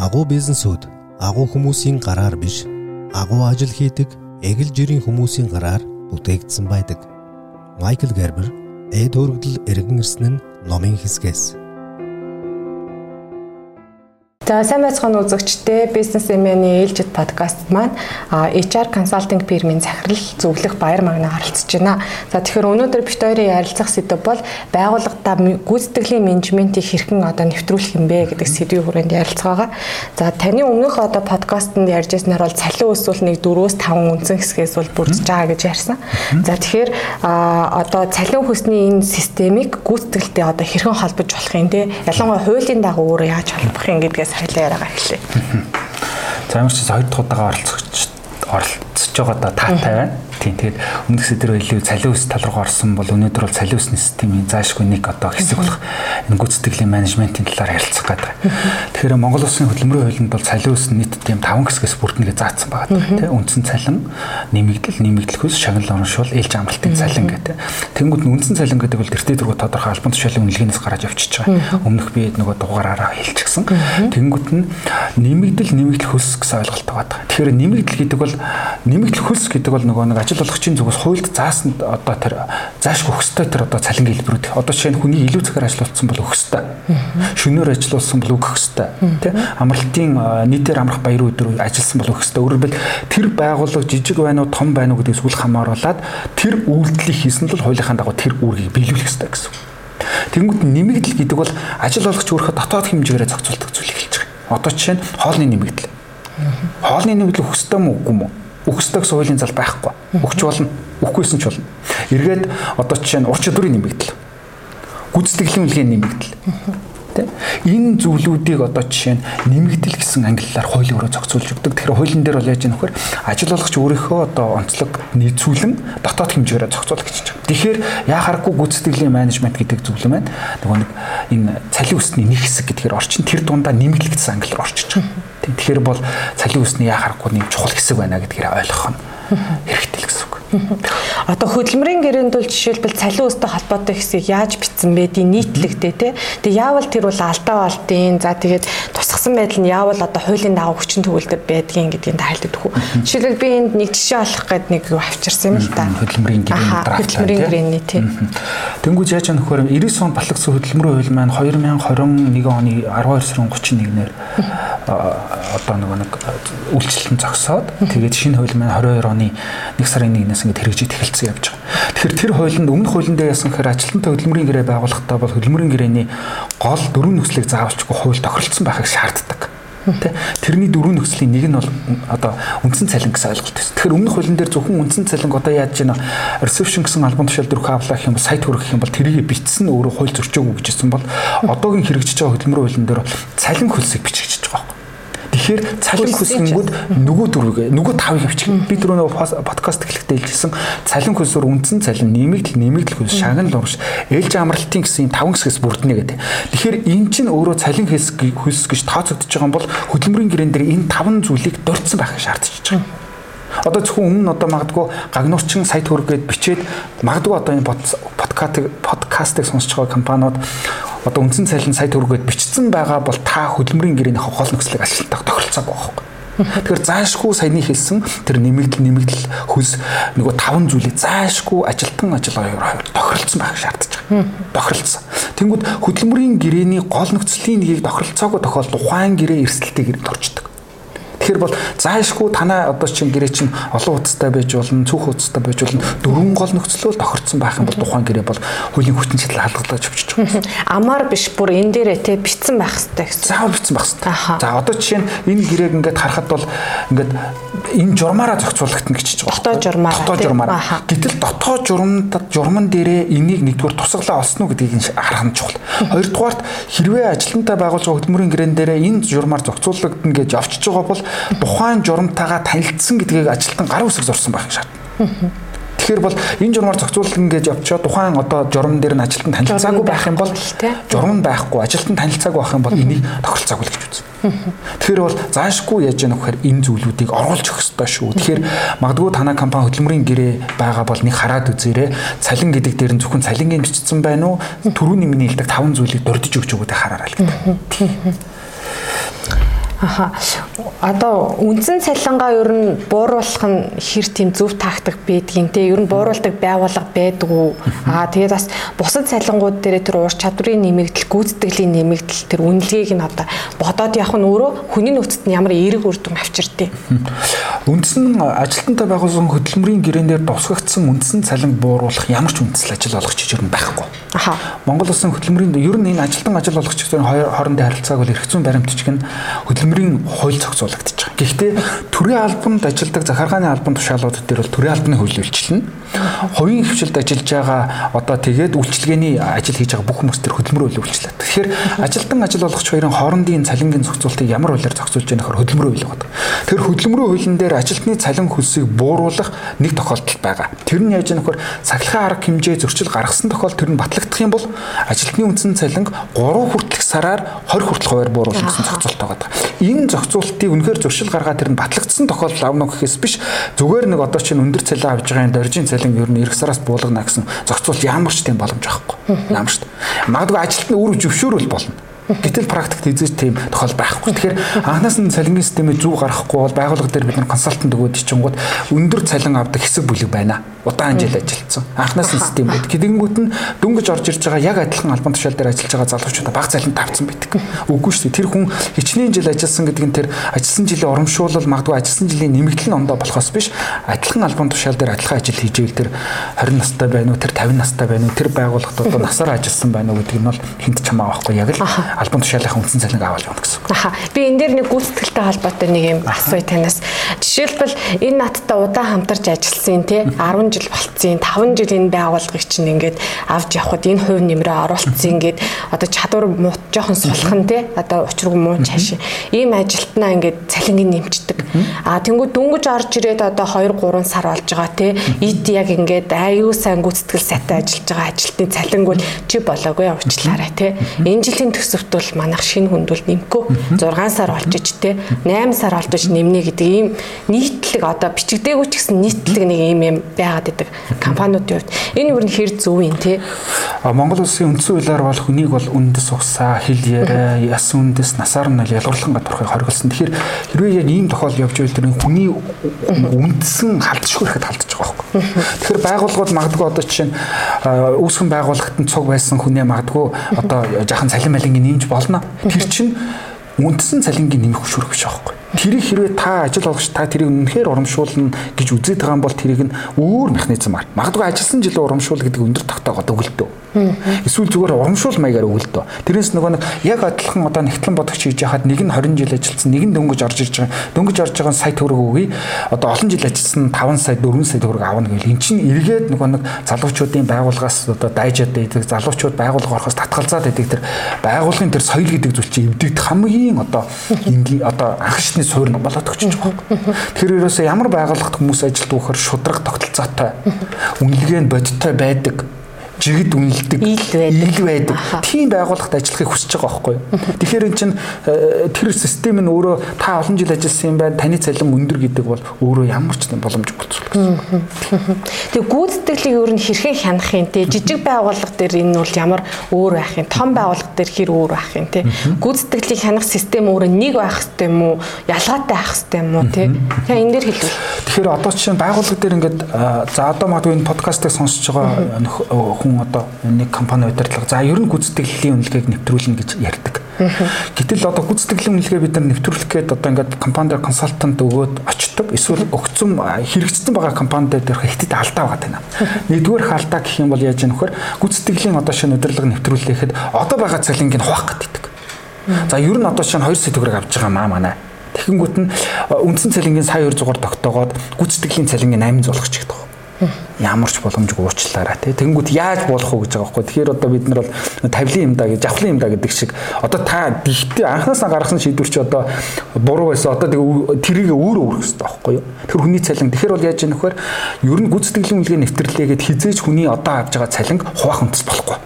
Агуу бизнесүүд агуу хүмүүсийн гараар биш, агуу ажил хийдэг эгэл жирийн хүмүүсийн гараар бүтээгдсэн байдаг. Майкл Гербер, эд хөргөдөл эргэн ирсэн нь номын хэсгээс. За сайн байцгаана үзэгчдээ бизнес эмээний ээлжид подкаст маань HR консалтинг фирмийн захирал зөвлөх Баяр Магна оролцож байна. За тэгэхээр өнөөдөр бид хоёрын ярилцах сэдэв бол байгууллагатаа гүйцэтгэлийн менежментийг хэрхэн нэвтрүүлэх юм бэ гэдэг сэдвийн хүрээнд ярилцгаа. За таны өмнөх подкастэнд ярьж байснаар бол цалин өсвөл нэг 4-5 үндсэн хэсгээс бол бүрдэж байгаа гэж ярьсан. За тэгэхээр цалин хөсний энэ системийг гүйцэтгэлтэй хэрхэн холбож болох юм те? Ялангуяа хуулийн дагуу өөрөө яаж холбох юм гэдгээс хайлаа яриагаа эхлэе. За ямар ч хоёр дахь удаага оролцож байгаа таатай байна. Тэгээд өмнөх сэдвэр илүү цалин өс тал руу орсон бол өнөөдөр бол цалин өсний системийн заашгүй нэг хэсэг болох энэ гүйцэтгэлийн менежментийн талаар ярилцах гэдэг. Тэгэхээр Монгол Улсын хөдөлмөрийн хуулинд бол цалин өс нийт 5 хэсгээс бүрднэ гэж заасан байгаа. Тэ үндсэн цалин, нэмэгдэл хөлс, шагнал урамшуул, ээлж амралтын цалин гэдэг. Тэнгүүд нь үндсэн цалин гэдэг бол тэртээ дөрвөө тодорхой албан тушаалын үнэлгээнээс гараад явчихж байгаа. Өмнөх би нөгөө дугаараараа хэлчихсэн. Тэнгүүд нь нэмэгдэл хөлс гэсэн ойлголт байгаа. Тэгэхээр нэмэгдэл гэдэг бол нөгөө нэг ажил олгогчийн зүгээс хуульд заасан тэр заашгүй өгөхстэй тэр цалин хэлбэрүүд. Жишээ нь хүний илүү цагаар ажиллуулсан бол өгөхстэй. Шөнөөр ажиллуулсан бол өгөхстэй. Тэ амралтын нийтээр амрах баяр өдөр ажилласан бол өгөхстэй. Өөрөөр хэлбэл тэр байгууллага жижиг байна уу том байна уу гэдгээс үл хамааруулаад тэр үйлдэлийг хийсэн л хуулийнхаа дагуу тэр үүргийг биелүүлэх ёстой гэсэн. Тэнгүүд нэмэгдэл гэдэг бол ажил олгогч өөрийнхөө дотоод хэмжээгээрээ зохицуулдаг зүйлийг хэлж байгаа. Жишээ нь хоолны нэмэгдэл. Хоолны нэмэгдэл өгөхстэй мүү үгүй мүү? Өгөхстэй гэсэн хуулийн зал байхгүй. Өгч болно, өгөхгүйсэн ч болно. Эргээд жишээ нь ур чадварын нэмэгдэл. Гүйцэтгэлийн үнэлгээний нэмэгдэл. Тэ? Энэ зүйлүүдийг жишээ нь нэмэгдэл гэсэн ангиллаар хуулийн өрөө зохицуулж өгдөг. Тэгэхээр хуулийн дээр бол яаж яах вэ? Ажил олгогч өөрийнхөө онцлог нийцүүлэн дотоод хэмжээрээ зохицуулах гэж байна. Тэгэхээр яхааргүй гүйцэтгэлийн менежмент гэдэг зүйл маань нөгөө нэг энэ цалин өсний нэг хэсэг гэдгээр орчин тэр дундаа нэмэгдэл гэсэн ангиллаар орчиж байгаа. Тэгэхээр бол цалин өсний яхааргүй нэг чухал хэсэг байна гэдгээр ойлгох нь хэрэгтэй л гэсэн үг. Хөдөлмөрийн гэрээнд бол жишээлбэл цалин өстэй холбоотой хэсгийг яаж бичсэн бэ? Нийтлэгтэй тий. Тэгээ яавал тэр бол алдаа болтын. За тэгээд тусгасан байдал нь яавал хуулийн дагуу хүчин төгөлдөр байдгийн гэдгийг тайлбарлаад өгөх. Жишээлбэл би энд нэг жишээ олох гээд нэг юу авчирсан юм л та. Хөдөлмөрийн гэрээний тий. Тэнгүүд яаж нөхөр 90 он батлагдсан хөдөлмөрийн хууль маань 2021 оны 12 сарын 31-ээр нөгөө нэг үйлчлэлэн зогсоод тэгээд шинэ хууль маань 22 оны 1 сарын 1-ээс ингэж хэрэгжиж эхэлсэн явж байгаа. Тэгэхээр тэр хуулинд өмнөх хуулиндээ яасан гэхээр ажилтнтай хөдөлмөрийн гэрээ байгуулахдаа бол хөдөлмөрийн гэрээний гол 4 нөхцөлийг заавалчгүй хууль тохиролцсон байхыг шаарддаг. Тэрний 4 нөхцөлийн нэг нь бол үндсэн цалин гэсэн ойлголт байсан. Тэгэхээр өмнөх хуулийн дээр зөвхөн үндсэн цалин яаж байна? Reception гэсэн албан тушаал дөрөв авлах юм бол сайт хүргэх юм бол тэрийг бичсэн өөрөө хууль зөрчөөгүй гэж хэлсэн бол одоогийн хэрэгжиж байгаа хөдөлмөрийн хуулийн дээр цалин хөлсийг бичиж байгаа. Тэгэхээр цалин хөлсөнгүүд нөгөө 5-ыг бичих. Би түрүү подкаст эхлэхдээ хэлжсэн цалин хөлсөөр үндсэн цалин, нэмэгдэл хөлс, шагнал урамш, ээлж амралтын гэсэн 5 хэсгээс бүрднэ гэдэг. Тэгэхээр энэ чинь өөрөө цалин хөлс гэж тооцогдож байгаа бол хөдөлмөрийн гэрэн дээр энэ 5 зүйлийг дурдсан байхыг шаардчихж байгаа. Зөвхөн өмнө магадгүй гагнуурчин сайт хөргээд бичээд магадгүй энэ подкастыг сонсож байгаа компаниуд үндсэн цалин сайт хөргээд бичсэн байгаа бол та хөдөлмөрийн гэрээнийхээ гол нөхцөлийг ажилтнаа тохиролцоогүй байхгүй. Тэгэхээр заашгүй саяны хэлсэн тэр нэмэгдэл хөлс нөгөө 5 зүйлийг заашгүй ажилтан ажиллагаа тохиролцсон байх шаардж байгаа. Тохиролцсон. Тэнгүүд хөдөлмөрийн гэрээний гол нөхцөлийн нэгийг тохиролцоогүй тохиолдолд ухаан гэрээ эрсдэлтэй гэрээнд орчдөг. Тэгэхээр бол заашгүй танаа чинь гэрээ чинь олон хуудастай байж болно, цөөх хуудастай байж болно. 4 гол нөхцөлөөр тохирцсон байх юм бол тухайн гэрээ бол хуулийн хүчин чадал халдлагаж авчиж байгаа. Амар биш бүр энэ дээрээ те бичсэн байх хэрэгтэй гэсэн. Заавал бичсэн байх хэрэгтэй. За жишээ нь энэ гэрээг ингээд харахад бол ингээд энэ журмаараа зохицуулагдана гэж хэлж байгаа. Дотоод журмаараа. Гэтэл дотоод журман дээрээ энийг нэгдүгээр тусгалаа олсон уу гэдгийг харах нь чухал. Хоёрдугаарт хэрвээ ажилтнтай байгуулж байгаа хөдөлмөрийн гэрээн дээрээ энэ журмаар зохицуулагдана гэж авчиж байгаа бол тухайн журамтайгаа танилцсан гэдгийг ажилтан гар үсэг зурсан байх шаардлагатай. Тэгэхээр бол энэ журмаар зохицуулалтын гэж явчаад тухайн журам дээр нь ажилтан танилцаагүй байх юм бол журам байхгүй ажилтан танилцаагүй байх юм бол энийг тохиролцоогүй гэж үзнэ. Тэгэхээр бол заашгүй яаж яах вэ гэхээр энэ зүйлүүдийг оруулж өгөх ёстой шүү. Тэгэхээр магадгүй танай компани хөдөлмөрийн гэрээ байгаа бол нэг хараад үзээрэй. Цалин гэдэг дээр нь зөвхөн цалингийн бичсэн байна уу? Түрүүний миний хэлдэг 5 зүйлийг дурдж өгч өгөөдэй хараарай л гэдэг. Одоо үндсэн цалингаа ер нь бууруулах нь хэр тийм зөв тактик байдгийг те ер нь бууруулдаг байгууллага байдаг уу? Тэгээд бас бусад цалингууд дээр тэр уур чадварын нэмэгдэл, гүйцэтгэлийн нэмэгдэл тэр үнэлгээг нь одоо бодоод явах нь өөрөө хүний нөөцөд нь ямар эерэг үр дүн авчирдээ. Үндсэн ажилтнтай байгуулсан хөдөлмөрийн гэрээн дээр тусгагдсан үндсэн цалин бууруулах ямар ч үндэслэл ажил олгогч ер нь байхгүй. Монгол улсын хөдөлмөрийн ер нь энэ ажилтан ажил олгогчдын хоорондын харилцааг бол эрх зүйн баримтчиг нь хөдөлмөрийн хууль зохицуулагдаж байгаа. Гэхдээ төрийн албанд ажилладаг захиргааны албан тушаалууд дээр бол төрийн албаны хууль үйлчилнэ. Хувийн хвшилд ажиллаж байгаа одоо тэгээд үйлчилгээний ажил хийж байгаа бүх хүмүүс төр хөдөлмөр хууль үйлчлээ. Тэгэхээр ажилтан ажил олгогч хоёрын хоорондын цалингийн зохицуултыг ямар хуулиар зохицуулж байгаа нөхөр хөдөлмөрийн хууль байдаг. Тэр хөдөлмөрийн хуулийн дээр ажилтны цалин хөлсийг бууруулах нэг тохиолдол байгаа. Тэр нь яаж нөхөр цахилгаан арга хэмжээ зөрчил гаргасан тохиолдолд тэр нь батлагдах юм бол ажилтны үндсэн цалин 3 хүртэлх сараар 20 хүртэлх хувиар бууруулах гэсэн зохицуултаа байдаг. Энэ зохицуултыг үнэхээр зөрчил гаргаад тэр нь батлагдсан тохиолдол авна гэхээс биш зүгээр нэг одоо чинь өндөр цалин авж байгаа энэ доржийн цалин ер нь эх сараас буулгана гэсэн зохицуулт ямар ч тийм боломж байхгүй. Ямар ч. Магадгүй ажилтны үр зөвшөөрөл болно. Гэтэл практикт эзэж тийм тохиол байхгүй. Тэгэхээр анханаас нь цалингийн системийг зөв гаргахгүй бол байгууллага дээр бид нар консалтант өгөөд ичингууд өндөр цалин авдаг хэсэг бүлэг байна. Удаан жил ажилласан. Анханаас нь систем байдаг. Тэгэнгүүт нь дөнгөж орж ирж байгаа яг адилхан албан тушаал дээр ажиллаж байгаа залуучуудаа бага цалин тавьсан байдаг. Үгүй шүү дээ. Тэр хүн хичнээн жил ажилласан гэдэг нь тэр ажилласан жилийн урамшуулал магадгүй ажилласан жилийн нэмэгдэл нь ондоо болохоос биш адилхан албан тушаал дээр адилхан ажил хийж ивэл тэр 20 настай байна уу, тэр 50 настай байна уу, тэр байгууллагад одоо насаар ажилласан байна уу гэдэг нь бол хинт ч хамаа байхгүй. Яг л албан тушаалынхаа үндсэн цалинг аваад явна гэсэн. Би энэ дээр нэг гүйцэтгэлтэй холбоотой нэг юм асууя танаас. Жишээлбэл энэ надтай удаан хамтарч ажилласан тий 10 жил болцсон, 5 жил энэ байгууллагыг чинь ингээд авч явхад энэ хувь нэмрээ оруулсан ингээд одоо чадвар жоохон сулхан тий одоо учиргүй муу цааш ийм ажилтнаа ингээд цалингийн нэмчдэг. Тэнгүү дөнгөж орж ирээд одоо 2-3 сар болж байгаа тий эд яг ингээд аюу сайн гүйцэтгэл сайтай ажиллаж байгаа ажилтны цалингууд чи болоогүй уучлаарай тий. Энэ жилийн төсөвт бол манайх шинэ хүнд бол нэмэхгүй 6 сар болж ич те 8 сар болж ич нэмнэ гэдэг ийм нийтлэг одоо бичигдээгүй ч гэсэн нийтлэг нэг ийм юм байгаад байдаг компаниудын хувьд энэ юу н хэр зөв юм те. Монгол улсын үндсэн хуулиар бол хүнийг бол үндэс ухсаа хил яриа яс үндэс насаар нь ялгарлан гадуурхыг хориглосон. Тэгэхээр хэрвээ яг ийм тохиол явж байвал тэр хүний үндсэн халдшгүй ихэд халдж байгаа байхгүй. Тэгэхээр байгууллагууд магадгүй одоо жишээ нь үүсгэн байгууллагт нь цуг байсан хүнээ магадгүй одоо жаахан цалин малингийн нэмж болно. Тэр чинь үндсэн цалингийн нэмэх хөшүүрөх биш аахгүй. Тэрийг хэрвээ та ажил олгогч та тэрийг үнэхээр урамшуулна гэж үзээд байгаа юм бол тэрийг нь өөр механизмаар магадгүй ажилласан жилийн урамшуул гэдэг өндөр тогтоогоод өгөлтөө. Эсвэл зүгээр урамшуул маягаар өгөлтөө. Тэрнээс нөгөө нэг яг адилхан одоо нэгтлэн бодогч хийж яхад нэг нь 20 жил ажилласан, нэг нь дөнгөж орж ирж байгаа. Дөнгөж орж байгаа сая төгрөг өгье. Одоо олон жил ажилласан 5 сая 4 сая төгрөг авна гэвэл эн чинь эргээд нөгөө нэг залуучуудын байгууллагаас одоо дайжаад байдаг залуучууд байгууллага орохоос татгалзаад байдаг тэр байгууллагын тэр соёл гэдэг зүйл чинь эвдэгдэх хамгийн одоо анх шатны суурь болоод өгч байгаа. Тэр ерөөсөө ямар байгууллагт хүмүүс ажилд өгөхөр шудраг тогтолцоотой үнэлгээ нь бодиттой байдаг. Жигд үнэлдэг, ил байдаг. Тийм байгууллагт ажиллахыг хүсэж байгаа байхгүй юу? Тэгэхээр эн чинь тэр систем нь өөрөө та олон жил ажилласан юм байна. Таны цалин өндөр гэдэг бол өөрөө ямар ч боломжгүй болчихлоо гэсэн. Тэгээ гүйцэтгэлийг өөр нь хэрхэн хянах юм те? Жижиг байгууллага дээр энэ бол ямар өөр байх юм? Том байгууллага дээр хэр өөр байх юм те? Гүйцэтгэлийг хянах систем өөрөө нэг байх хэрэгтэй юм уу? Ялгаатай байх хэрэгтэй юм уу те? Тэгээ энэ дээр хэлвэл. Тэгэхээр одоо чинь байгууллага дээр ингээд за одоо магадгүй энэ подкастыг сонсож байгаа хүн одоо нэг компани удирдлага за ер нь гүйцэтгэлийн үнэлгээг нэвтрүүлнэ гэж ярьдаг. Гэтэл одоо гүйцэтгэлийн үнэлгээ бид нар нэвтрүүлэх гээд одоо ингээд компанид консалтант өгөөд очдог. Эсвэл өгцөн хэрэгжсэн байгаа компанид дээр хэвтээд алдаа байгаа тань. Нэгдүгээр алдаа гэх юм бол яаж яах вэ? Гүйцэтгэлийн одоо шинэ удирдлага нэвтрүүлэхэд одоо байгаа цалингийг хуваах гэдэг. За ер нь одоо шинэ 2 сая төгрөг авч байгаа манай. Тэгэнгүүт нь үндсэн цалингийн сая 200-аар тогтоогоод гүйцэтгэлийн цалингийн 800 болгох ч гэдэг. Ямар ч боломжгүй уучлаарай тий. Тэнгүүт яаж болох вэ гэж байгаа байхгүй. Тэгэхээр одоо бид нар бол тавилын юм да гэж авхлын юм да гэдэг шиг одоо та дихтэй анхнаасаа гаргасан шийдвэр чи одоо буруу байсан. Одоо тэрийг өөрөө өөрөх хэрэгтэй байхгүй юу? Тэр хүний цалин. Тэгэхээр бол яаж яах вэ? Ер нь гүйцэтгэлийн үнэлгээ нэвтрэлээгээд хизээж хүний одоо авж байгаа цалин хуваах үндэс болохгүй.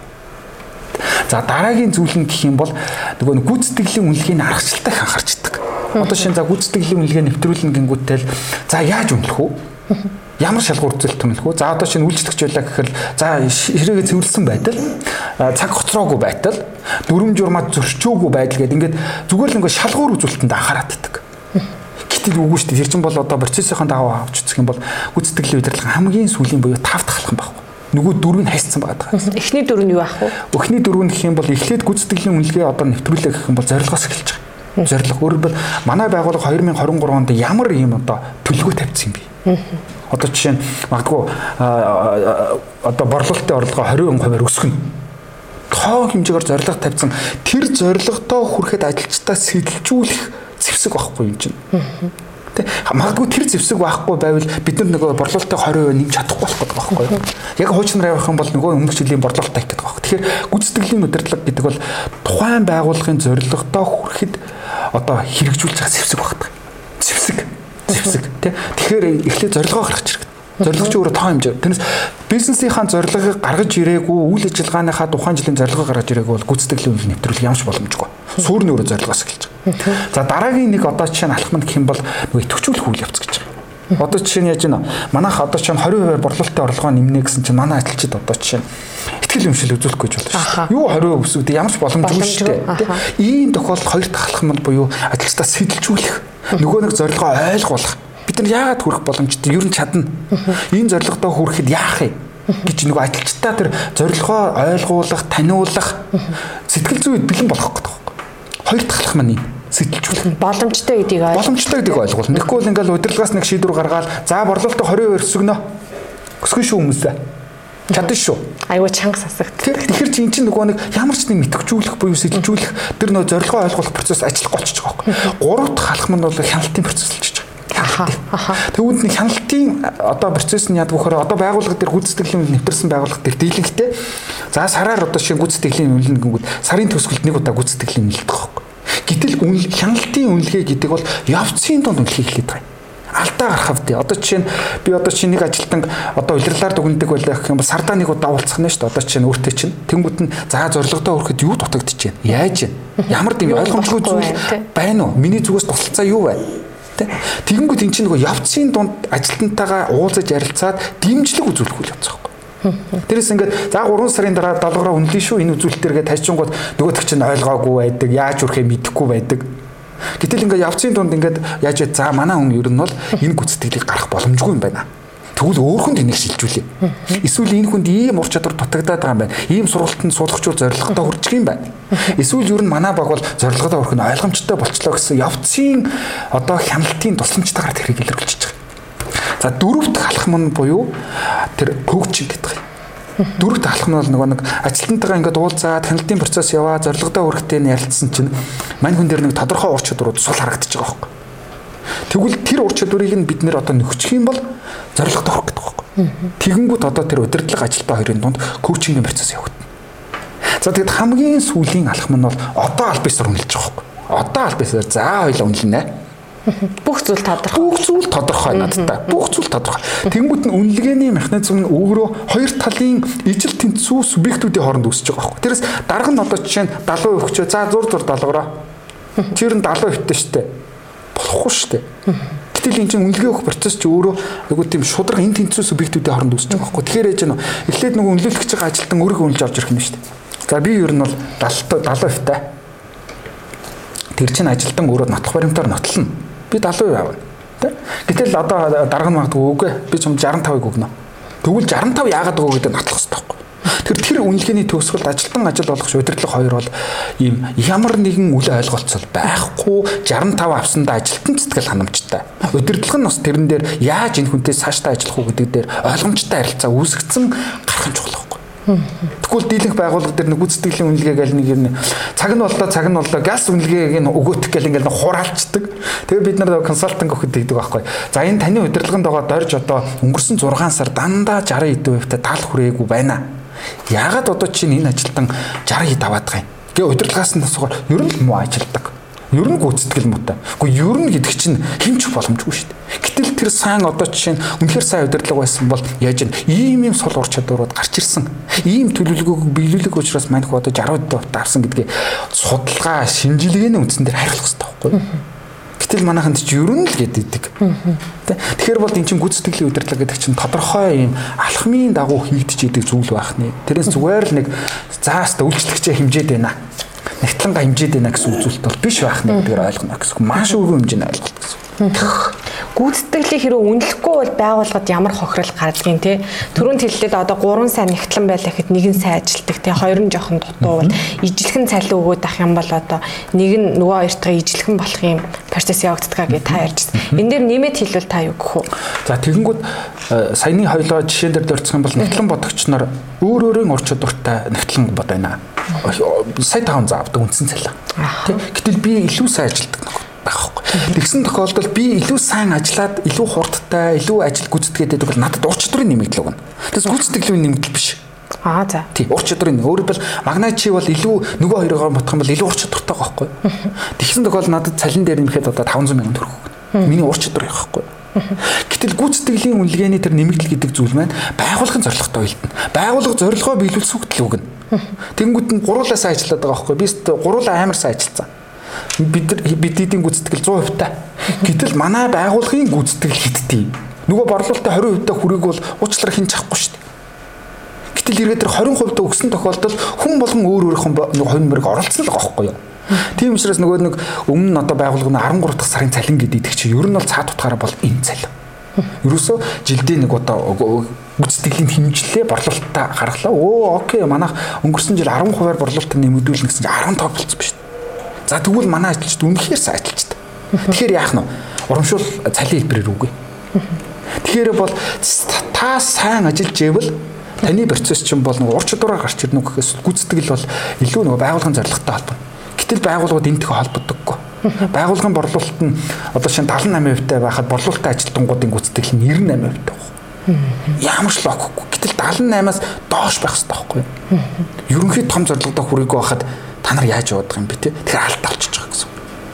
За дараагийн зүйл нь гэх юм бол нөгөө гүйцэтгэлийн үнэлгээний аргачлалтыг анхаарчдаг. Одоо шинэ за гүйцэтгэлийн үнэлгээ нэвтрүүлнэ гингүүтэл за яаж үнэлэх вэ? Ямар шалгуур үзүүлэлт төрүүлэх үү? За одоо чинь үйлчлэгч байлаа гэхээр за хэрээгээ цэвэрлсэн байтал цаг хоцроогүй байтал дүрм журмад зөрчөөгүй байдал гэдэг ингээд зүгээр л ингээд шалгуур үзүүлэлтэнд анхаарат байдаг. Гэтэл үгүй шүү дээ. Тэр чинь бол одоо процессийн дагуу авч үзэх юм бол гүйцэтгэлийн удирдлага хамгийн сүүлийн буюу 5 дахь алхам баг. Нөгөө дөрвийг хайцсан байгаа. Эхний дөрөв нь юу ах вэ? Эхний дөрөв нь гэх юм бол эхлээд гүйцэтгэлийн үнэлгээ одоо нэвтрүүлэх гэх юм бол зорилгоос эхэлж байгаа. Зорилго өөрөөр манай байгууллага 2023 онд ямар ийм одоо төлөвлөгөө тавьсан юм бэ? Одоо жишээ нь магадгүй одоо борлуулалтын орлогоо 20% өсгөнө. Тоо хэмжээгээр зорилго тавьсан тэр зорилготоо хүрэхэд ажилчдаа сэтэлжүүлэх зэвсэг байхгүй юм чинь. Тэ магадгүй тэр зэвсэг байхгүй байвал бид нар нөгөө борлуулалтын 20% нэмж чадахгүй болох гэдэг байхгүй юу? Яг хуучнаар явах юм бол нөгөө өмнөх жилийн борлуулалтаа хийх гэдэг байхгүй. Тэгэхээр гүйцэтгэлийн удирдлага гэдэг бол тухайн байгууллагын зорилготоо хүрэхэд одоо хэрэгжүүлж байгаа зэвсэг багтдаг. Зэвсэг тий. Тэгэхээр эхлээд зорилгоо гаргаж ирэх. Зорилго ч өөрөө тоо хэмжээ. Тэрнээс бизнесийнхаа зорилгыг гаргаж ирээгүй, үйл ажиллагааныхаа тухайн жилийн зорилгоо гаргаж ирээгүй бол гүйцэтгэлийн үнэлгээ нэвтрүүлэх ямарч боломжгүй. Сүүр нь өөрөө зорилгоос эхэлж байгаа. За дараагийн нэг одоо жишээ нь алхам гэх юм бол нөгөө идэвхжүүлэх үйл явц гэж байгаа. Одоо жишээ нь яаж байна? Манайх одоо чинь 20% борлуулалтын орлогоо нэмнэ гэсэн чинь манай ажилчид одоо жишээ нь ихтгэл өмшил үзүүлэхгүй гэж болно шүү дээ. Юу 20% өсвөд ямарч боломжгүй шүү дээ. Ийм тохиолдолд хоёр дахь алхам нь буюу ажилчдаа сэтэлжүүлэх, нөгөө нэг зорилгоо ойлгуулах. Бид нар яагаад хүрэх боломжтой? Ер нь чадна. Ийм зорилготоо хүрэхэд яах вэ? гэж нөгөө ажилчдаа тэр зорилгоо ойлгуулах, таниулах сэтгэл зүйд бэлэн болгох гэдэг байна. Хоёр дахь алхам нь сэтэлжүүлэх. Боломжтой гэдгийг ойлгуулна. Тэгэхгүй бол ингээл удирдлагаас нэг шийдвэр гаргаад за борлуулалтаа 20% өсгөнө. Өсгөн шүү хүмүүсээ. Чадна шүү. Айгуу чанга сасагддаг. Тэгэхээр чи эн чинь нөгөө нэг ямар ч нэг мэтгэжүүлэх буюу сэтэлжүүлэх тэр нөгөө зорилгоо ойлгуулах процесс ажиллахгүй болчихж байгаа юм. Гурав дахь алхам нь бол хяналтын процесс болж байгаа. Тэгвэл нэг хяналтын одоо процесс нь яадаг вөхөр одоо байгууллага дээр гүйцэтгэлийн нэвтэрсэн байгууллага дээр дийлэнхтэй за сараар одоо шинэ гүйцэтгэлийн үнэлнэ гэнгүүт сарын төгсгөлд нэг удаа гүйцэтгэлийн үнэлдэг байхгүй. Гэтэл хяналтын үнэлгээ гэдэг бол явцын донд үнэлхийг хэлээд байгаа. Алдаа гарах хэвдээ. Одоо жишээ нь би одоо чинь нэг ажилтан одоо улирлаар дүгнэдэг байлаа гэх юм бол сардаа нэг удаа уулзах нь шүү дээ. Одоо чинь өөртөө чинь тэнгууд нь за зорилгодоо хүрэхэд юу дутагдчих вэ? Яаж вэ? Ямар дэм ойлгомжгүй зүйл байна уу? Миний зүгээс тусалцаа юу вэ? Тэгэнгүүт эн чинь нөгөө явцын дунд ажилтнтайгаа уулзаж ярилцаад дэмжлэг үзүүлэх үйл явц байхгүй. Тэрээс ингээд за 3 сарын дараа даалгавраа үнэлнэ шүү энэ үзүүлэлтэргээ тажчингууд нөгөөдөг чинь ойлгоогүй байдаг, яаж үрхээ мэдэхгүй байдаг. Гэтэл ингээд явцын дунд ингээд яаж вэ? За манай хүн ер нь бол энэ гүйцэтгэлийг гарах боломжгүй юм байна. Тэгвэл өөрхөнд энийг шилжүүлээ. Эсвэл энэ хүнд ийм ур чадвар дутагдаад байгаа юм байна. Ийм сургалтанд суулгачуул зорилготой хүрчих юм байна. Эсвэл ер нь манай баг бол зорилготой хүрэх нь ойлгомжтой болчлоо гэсэн явцын одоо хяналтын тусламжтайгаар тэрийг илэрхийлж байгаа. За дөрөв дэх алхам нь буюу тэр коучинг гэдэг юм. Дөрөв дэх алхам нь бол нэг ажилтнтайгаа ингээд уулзаад хяналтын процесс яваа зорилготой хүрэхтэй нь ярилцсан чинь мань хүн дээр нэг тодорхой ур чадварууд сул харагдаж байгаа байхгүй. Тэгвэл тэр ур чадварыг нь бид нэр одоо нөхчих юм бол зорилготой хүрэх гэдэг байхгүй. Тэгэнгүүт одоо тэр удирдлага ажилтаа хоёрын дунд коучингийн процесс явагдана. За тэгэд хамгийн сүүлийн алхам нь бол одоо аль бисаар үнэлж байгаа байхгүй. Одоо аль бисаар за хоёлаа үнэлнэ. Бүх зүйл тодорхой надтай. Бүх зүйл тодорхой. Тэнгүүд нь үнэлгээний механизм нь өөрөө хоёр талын ижил тэнцүү субъектүүдийн хооронд үүсэж байгаа байхгүй. Тэрээс дарга нь одоо жишээ нь 70% өгчөө. За зур даалгавраа. Тэр нь 70% хэвтэй штэ. Болохгүй штэ. Гэтэл энэ чинь үнэлгээ өгөх процесс чи өөрөө айгуу тийм шудраг энэ тэнцүү субъектүүдийн хооронд үүсэж байгаа байхгүй. Тэгэхээр ээж нь эхлээд нөгөө үнэлүүлэгч байгаа ажилтан өөрөө үнэлж авч ирэх юм штэ. За би ер нь бол 70% тай. Тэр чинь ажилтан өөрөө нотлох баримтаар нотлно. Би 70% авна. Тэ? Гэтэл одоо дарга нь магадгүй үгүй би ч 65%-ыг өгнө. Тэгвэл 65 яагаад өгөө гэдэг нотлох хэрэгтэй байхгүй. Тэр үнэлгээний төгсгөлд ажилтан ажил болгох удирдлага хоёр бол ийм ямар нэгэн үл ойлголцол байхгүй 65 авсандаа ажилтан цэцгэл ханамжтай. Удирдлага нь бас тэрэн дээр яаж энэ хүнтэй цаашдаа ажиллах уу гэдэг дээр ойлгомжтой харилцаа үүсгэсэн гарах нь чухал байхгүй. Тэгвэл дийлэнх байгууллага дээр нэг гүйцэтгэлийн үнэлгээ гэл нэг юм цаг нь боллоо газ үнэлгээг нь өгөөтөх гэл ингээл хураалцдаг. Тэгээ бид нар консалтинг өгөхөд хийдэг байхгүй. За энэ таны удирдлаганд байгаа дорж одоо өнгөрсөн 6 сар дандаа 60% та таал хүрээгүй байна. Яагаад одоо чинь энэ ажилтан 60% аваад байгаа юм? Гэ удирдлагаас нь асуугаар ер нь муу ажилдаг. Ер нь гүйцэтгэл муутай. Гэхдээ ер нь гэдэг чинь хэмч боломжгүй шүү дээ. Гэтэл тэр сайн одоо жишээ нь үнэхээр сайн удирдлага байсан бол яаж ийм сул ур чадварууд гарч ирсэн. Ийм төлөвлөгөөг биелүүлэх учраас манайх одоо 60% авсан гэдгийг судалгаа, шинжилгээний үндсэн дээр хариулах хэрэгтэй байхгүй юу? Гэтэл манайханд ч ер нь л гэдэг. Тэгэхээр бол энэ чинь гүйцэтгэлийн удирдлага гэдэг чинь тодорхой юм алхмын дагуу хийгдэж идэг зүйл байх нэ. Тэрээс зүгээр л нэг зааста үйлчлэгчээ хэмжээд байна. Нэгтлэнга хэмжээд байна гэсэн үзүүлэлт бол биш байх нэ гэдгээр ойлгоно гэсэн. Маш өргөн хэмжээний ойлголт гэсэн. Гүйцэтгэлийг хэрэг үнэлэхгүй бол байгууллагад ямар хохирол гардгийг те түрүүнд хэллээд одоо 3 сая нэгтлэн байлаа гэхэд нэг нь сайн ажилтдаг те хоёр нь жоохон дутуу бол ижилхэн цалин өгөөд ах юм бол одоо нэг нь нөгөө хоёртойгоо ижилхэн болох юм процесс явагддаг гэж та ярьжсэн. Энэ дээр нэмээд хэлвэл та юу гэх вэ? За тэгэнгүүт саяны хоёлоо жишээн дээр дурдсах юм бол нэгтлэн бодогч нар өөрийн ур чадвартай нэгтлэн бод байна. Сая 500 авдаг үндсэн цалин. Гэтэл би илүү сайн ажилтдаг нэг байхгүй. Тэгсэн тохиолдолд би илүү сайн ажиллаад илүү хурдтай, илүү ажил гүйцэтгээд байдаг бол надад ур чадварын нэмэгдэл өгнө. Тэгээс гүйцэтгэлийн нэмэгдэл биш. За. Тий, ур чадварын. Өөрөөр хэлбэл магнайт чи бол илүү нөгөө хоёроор бодох юм бол илүү ур чадвартай байхгүй. Тэгсэн тохиолдолд надад цалин дээр нэмэхэд одоо 500 сая төгрөг өгнө. Миний ур чадвар байхгүй. Гэтэл гүйцэтгэлийн үнэлгээний тэр нэмэгдэл гэдэг зүйл маань байгууллагын зорилготой уялдана. Байгууллага зорилгоо биелүүлэх үгтэл өгнө. Тэнгүүд нь гуруулаа сайн ажиллаад байгаа байхгүй. Би гуруулаа амар сайн ажилласан. Бидний гүйцэтгэл 100% та. Гэтэл манай байгууллагын гүйцэтгэл хиттэй. Нөгөө борлуулалтаа 20% та хүрээг бол уучлаарай хин чахгүй шүү дээ. Гэтэл ирээд тэр 20% та өгсөн тохиолдолд хүн болгон өөрийнхөө хувийн мөрөг оролцсон л байгаа байхгүй юу? Тийм учраас нөгөө нэг өмнө нь одоо байгууллага нь 13 дахь сарын цалин гэдэг чинь ер нь бол цаад утгаараа бол энэ цалин. Ерөөсөө жилдээ нэг одоо гүйцэтгэлийн хэмжлээ борлуулалтаа гаргалаа. Окей, манайх өнгөрсөн жил 10%-аар борлуулалтыг нэмэгдүүлнэ гэсэн чинь 15 болцсон ба шүү. За тэгвэл манай ажилчид үнэхээр сайн ажилчдаг. Тэгэхээр яах нь вэ? Урамшуул цалин хэлбэрээр үгүй. Тэгэхээр бол та сайн ажиллаж ивэл таны процесс чинь бол нэг ур чадвараар гарч ирнэ гэхээс гүйцэтгэл бол илүү нэг байгууллагын зорилготой холбооно. Гэтэл байгууллагууд энэтэй холбогдоггүй. Байгууллагын борлуулалт нь одоо шинэ 78% байхад борлуулалтын ажилтнуудын гүйцэтгэл нь 98% байна. Ямар ч логикгүй. Гэтэл 78-аас доош байх хэрэгтэй байхгүй юу? Ерөнхий том зорилгодоо хүрээгүй байхад та нар яаж явах юм бэ те? Тэгэхээр алдаа болчихж байгаа гэсэн.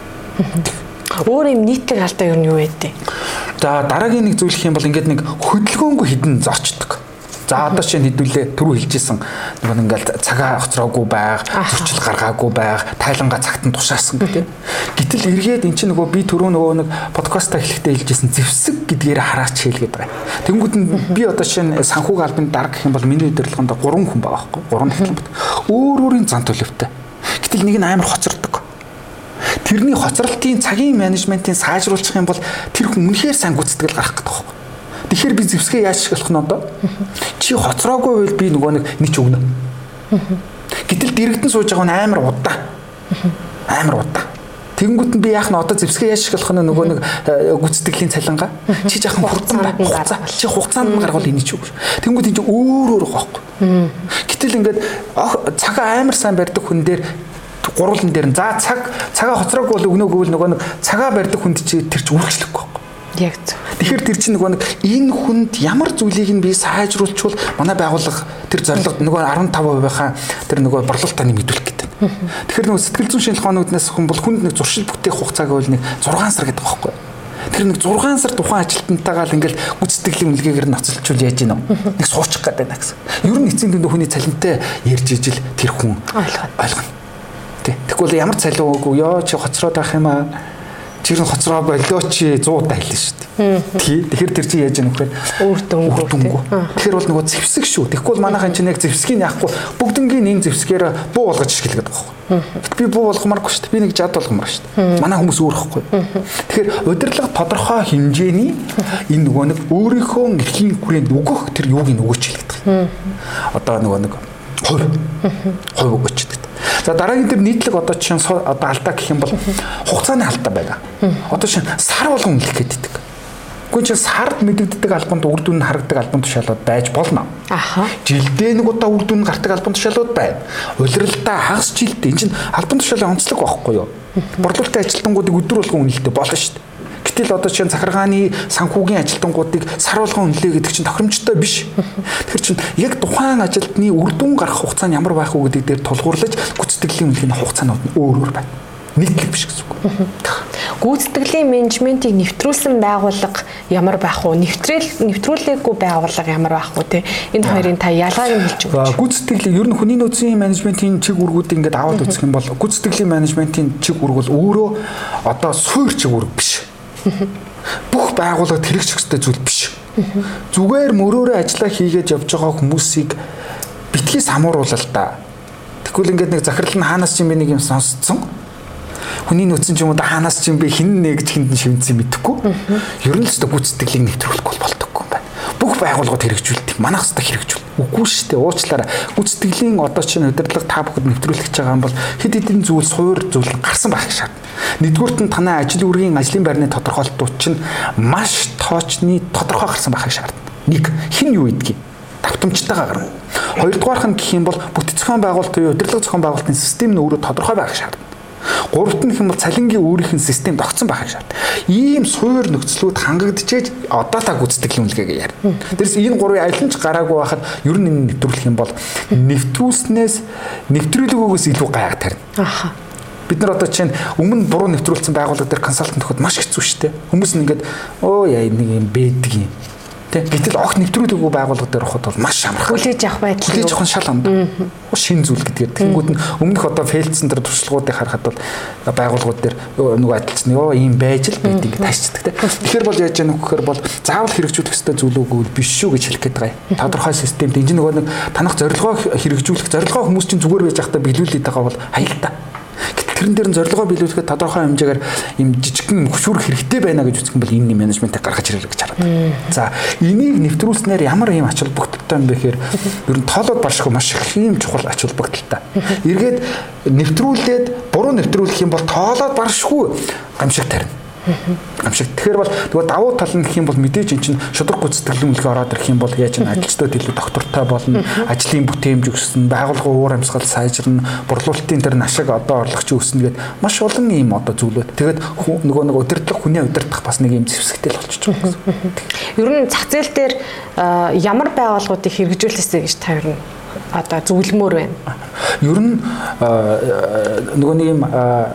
Өөр юм нийтлэг алдаа юу вэ? За дараагийн нэг зүйл их юм бол ингээд нэг хөдөлгөөнгүй хідэн зочдөг. За одоо чинь хэдүүлээ түрүү хэлжсэн нэг ингээл цагаа хоцроогүй байг, зөрчил гаргаагүй байг, тайлангаа цагт нь тушаасан гэдэг. Гэтэл эргээд эн чинь нөгөө би түрүү нөгөө нэг подкастаа эхлэхдээ хэлжсэн зэвсэг гэдгээр хараач хэлгээд байгаа. Тэнгүүд нь би одоо чинь санхүүг албанд дарга гэх юм бол миний удирдлаганд 3 хүн байгаа байхгүй 3 нэгтлэн. Өөр өөрийн зан төлөвтэй. Гэтэл нэг нь амар хоцордог. Тэрний хоцролтын цагийн менежментийн сайжруулах юм бол тэр хүн үнэхээр сайн гүйцэтгэл гаргах гэдэг байхгүй. Тэгэхээр би зэвсгээ яаж ашиглах нь одоо? Чи хоцроогүй байвал би нөгөө нэг өгнө. Гэтэл дэрэгдэн сууж байгаа нь амар удаа. Амар удаа. Тэнгүүт нь би яах нь одоо зэвсгээ яаж ашиглах нь нөгөө нэг гүйцэтгэлийн цалингаа. Чи жаахан хурдан хугацаа. Чи хугацаанд нь гаргавал энийг ч үг. Тэнгүүт энэ өөр байхгүй. Гэтэл ингээд цагаа амар сайн барьдаг хүн дээр гурлан дээр за цагаа хоцроогүй бол өгнөөгүй бол нөгөө нэг цагаа барьдаг хүнд чи тэр чи үргэлжлэхгүй байхгүй. Яг зөв. Тэгэхээр тэр чинь нөгөө нэг энэ хүнд ямар зүйлийг нь би сайжруулчвал манай байгууллага тэр зорилго нөгөө 15%-ийнхаа тэр нөгөө борлуулалтаа нэмэгдүүлэх гэдэг. Тэгэхээр нөгөө сэтгэл зүйн шинжилгээ хоногднаас хүн бол хүнд нэг зуршил бүтээх хугацааг бол нэг 6 сар гэдэг байхгүй. Тэр нэг 6 сар тухайн ажилтнтайгаа л ингээл гүйцэтгэлийн үнэлгээгээр ноцолчвол яаж гинэ? Нэг суучих гээд байна гэсэн. Ер нь эцсийн дүндээ хүний цалинтай ярьж ижил тэр хүн ойлгоно. Тэгвэл ямар цалин өгөө ёо чи хоцроод байх юм аа. Чир нь хоцроо болоо чи 100 удаа хэлнэ шүү дээ. Тэгэхээр тэр чи яаж яах вэ? Үр дүнгүй. Тэгэхээр бол нөгөө зэвсэг шүү. Тэгэхгүй бол манайхан чинь яг зэвсгийг яахгүй бүгднгийн энэ зэвсгээр буу болгож шигэлгээд байгаа байхгүй. Би буу болгомааргүй шүү дээ. Би нэг жад болгомаар шүү дээ. Манай хүмүүс өөр ихгүй. Тэгэхээр удирдлага тодорхой хэмжээний энэ нөгөө нэг өөрийнхөө эрхийн хүрээнд өгөх тэр юуг нь өгөөч хэлдэг. Одоо нөгөө нэг хувь өгөөч гэдэг. За дараагийн дээр нийтлэг одоо чинь одоо алдаа гэх юм бол хугацааны алдаа байна. Одоо чинь сар болгон үнэлэх гэдэг. Гэхдээ чинь сард мэдэгддэг албанд үр дүн харагдаг албан тушаалууд байж болно. Жилдээ нэг удаа үр дүн гардаг албан тушаалууд байна. Улиралдаа хагас жилдээ энэ чинь албан тушаалын онцлог байхгүй юу? Борлуулалтын ажилтнуудыг өдөр болгон үнэлдэг болно шүү дээ. Гэтэл одоо чинь захиргааны санхүүгийн ажилтнуудыг сар болгон үнэлээ гэдэг чинь тохиромжтой биш. Тэгэхээр чинь яг тухайн ажилтны үр дүн гарах хугацаа нь ямар байх вэ гэдэг дээр тулгуурлаж гүйцэтгэлийн үнэлгээний хугацаанууд нь өөр байна. Нийтлэг биш гэсэн үг. гүйцэтгэлийн менежментийг нэвтрүүлсэн байгууллага ямар байх вэ? Нэвтрүүлээгүй байгууллага ямар байх вэ те? Энэ хоёрын та ялгааг нь хэлж өгөөч. Гүйцэтгэлийн ер нь хүний нөөцийн менежментийн чиг үүргүүдийг ингээд аваад үзэх юм бол гүйцэтгэлийн менежментийн чиг үүрэг бол өөрөө одоо суур чиг үүрэг биш. Бүх байгууллагад хэрэгжих ёстой зүйл биш. Зүгээр мөрөөрөө ажиллаа хийгээд явж байгаа хүмүүсийг битгий самууруулаа л да. Тэгвэл ингээд нэг захирал нь хаанаас ч юм бэ нэг юм сонсцсон. Хүний нөөцийн ч юм уу хаанаас ч юм бэ хин нэг гэж хинд нь шивнцэн мэдэхгүй. Ер нь л өстө гүйцэтгэлийг нэвтрүүлэхгүй болдоггүй юм байна. Бүх байгууллагууд хэрэгжүүлдэг. Манайх өстө хэрэгжүүл. Үгүй шүү дээ. Уучлаарай. Гүйцэтгэлийн одоо чинь удирдлага та бүхэд нэвтрүүлэх гэж байгаа юм бол хэд хэдэн зүйл суур зүйл гарсан байх шаардна. Нэгдүгürt нь танай ажил үргийн ажлын байрны тодорхойлолтууд чинь маш тоочны тодорхой гарсан байх шаардна. Нэг хин юу идгийг давтамжтайгаа гарна. Хоёрдугаарх нь гэх юм бол бүтэц зохион байгуулалт буюу удирдлага зохион байгуулалтын систем нь өөрөө тодорхой байх шаардна. Гуравт нь гэх юм бол цалингийн өөрийнх нь систем тогтсон байх шаардна. Ийм суур нөхцлүүд хангагдчихэж одоо та гүйцэтгэлийн үнэлгээгээ ярина. Тэрс энэ гурвын аль нь ч гараагүй байхад ер нь энэ нэвтрүүлэх юм бол нэвтрүүлснээс нэвтрүүлэгөөс илүү гайхаг тарина. Аха. Бид нар одоо чинь өмнө буруу нэвтрүүлсэн байгууллага дээр консалтант өгөхөд маш хэцүү шттэ. Хүмүүс нь ингээд яа нэг юм бэдэг юм. Гэтэл огт нэвтрүүлээгүй байгууллага дээр ороход бол маш амархан. Хүлээж авах байдал. Хүлээж авах нь шал амд. Шин зүйл гэдгээр. Тэнгүүд нь өмнөх одоо фейлдсэн тэр туршлагуудыг харахад бол байгууллагууд дээр нөгөө адилсан ийм байж л байд ингэ таашчдаг те. Тэгэхээр бол яаж яах вэ гэхээр бол заавал хэрэгжүүлэх ёстой зүйлүүг биш шүү гэж хэлэх гээд байгаа юм. Тодорхой системд энэ нөгөө нэг танах зорилгоо хэрэгжүүлэх зорилгоо хүмүүс чинь зүгээр байж байхдаа биелүүлээд байгаа бол аюултай. Тэрэн дээр нь зорилгоо биелүүлэхэд тодорхой хэмжээгээр юм жижигхэн хөшүүрэх хэрэгтэй байна гэж үзэх юм бол энэ менежментийг гаргаж ирэх гэж хараад. За энийг нэвтрүүлснээр ямар юм ач холбогдолтой юм бэ гэхээр ер нь тоолоод барших маш их юм чухал ач холбогдолтой. Эргээд нэвтрүүлээд буруу нэвтрүүлэх юм бол тоолоод баршихгүй гамшиг тарина. Гамшиг. Тэгэхээр бол нөгөө давуу тал нь гэх юм бол мэдээж эн чинь шудраг гүйцэтгэлийн үнэлгээ ороод ирэх юм бол яаж н ажилчдад илүү доктортой болно, ажлын бүтээмж өснө, байгууллагын уур амьсгал сайжирна, борлуулалтын тэр нашиг одоо орлогч өснө гэдэг маш олон юм одоо зүйлүүд. Тэгээд нөгөө нэг удирдлага хүний удирдах бас нэг юм зэвсэгтэй л болчихж байгаа юм. Ер нь зах зээл дээр ямар байгууллагуудыг хэрэгжүүлээсэй гэж та ер нь одоо зөвлөмөр байна. Ер нь нөгөө нэг юм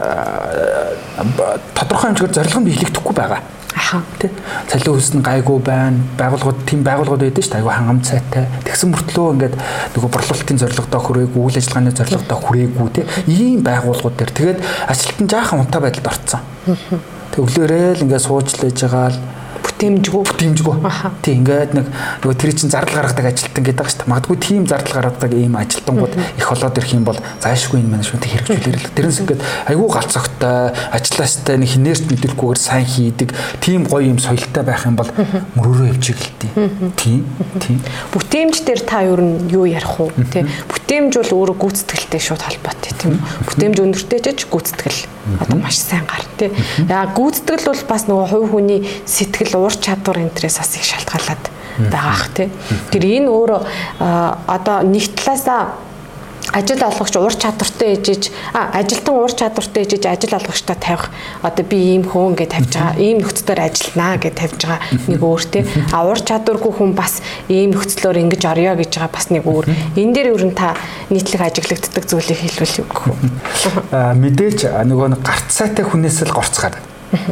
тодорхой хэмжээгээр зорилго нь биелэгдэхгүй байгаа. Аха. Тэ. Цалин хөлс нь гайгүй байна. Байгууллагууд тийм байгууллагууд байдаг шүү дээ. Айгүй хангамж сайтай. Тэгсэн мөртлөө ингээд нөгөө борлуулалтын зорилгодоо хүрээгүй, үйл ажиллагааны зорилгодоо хүрээгүй тэ. Ийм байгууллагууд дээр тэгээд ажилтан жаахан унтаа байдалд орцсон. Төглөөрөө л ингээд сууж л байж байгаа л бүтээмжгүй. Тийм ингээд нөгөө тэр чинь зардал гаргадаг ажилтан гэдэг байгаа шүү дээ. Магадгүй тийм зардал гаргадаг ийм ажилтнууд их болоод ирэх юм бол зайлшгүй энэ менежментийг хэрэгжүүлэх. Тэрнээс ингээд айгүй галзахтай, ажилластай нэг хинээрч мэдлгүйгээр сайн хийдэг тийм гоё юм соёлтой байх юм бол мөрөөрөө явж игэлтий. Тийм. Бүтээмж дээр та ер нь юу ярих вэ? Тэ. Бүтээмж бол өөрөө гүйцэтгэлтэй шууд холбоотой тийм үү? Бүтээмж өндөртэй ч гүйцэтгэл одоо маш сайн гар тий. Яа гүйцэтгэл бол бас нөгөө хувь хүний сэтгэл уур чадвар энтрээс бас их шалтгаалаад байгаа ах тий. Тэр энэ өөрөө одоо нэг талаасаа ажил олгогч уур чадвартай ээжиж ажилтан уур чадвартай ээжиж ажил олгогчтой тавих одоо би ийм хөөн гэж тавьж байгаа ийм нөхцлөөр ажилланаа гэж тавьж байгаа нэг өөр тий. Уур чадваргүй хүн бас ийм нөхцлөөр ингэж орё гэж байгаа бас нэг өөр. Энэ дээр ер нь та нийтлэг ажиглагддаг зүйлийг хэлвэл юу гэх вэ? Мэдээж нөгөө гарц сайтай хүнээс л горц гарна.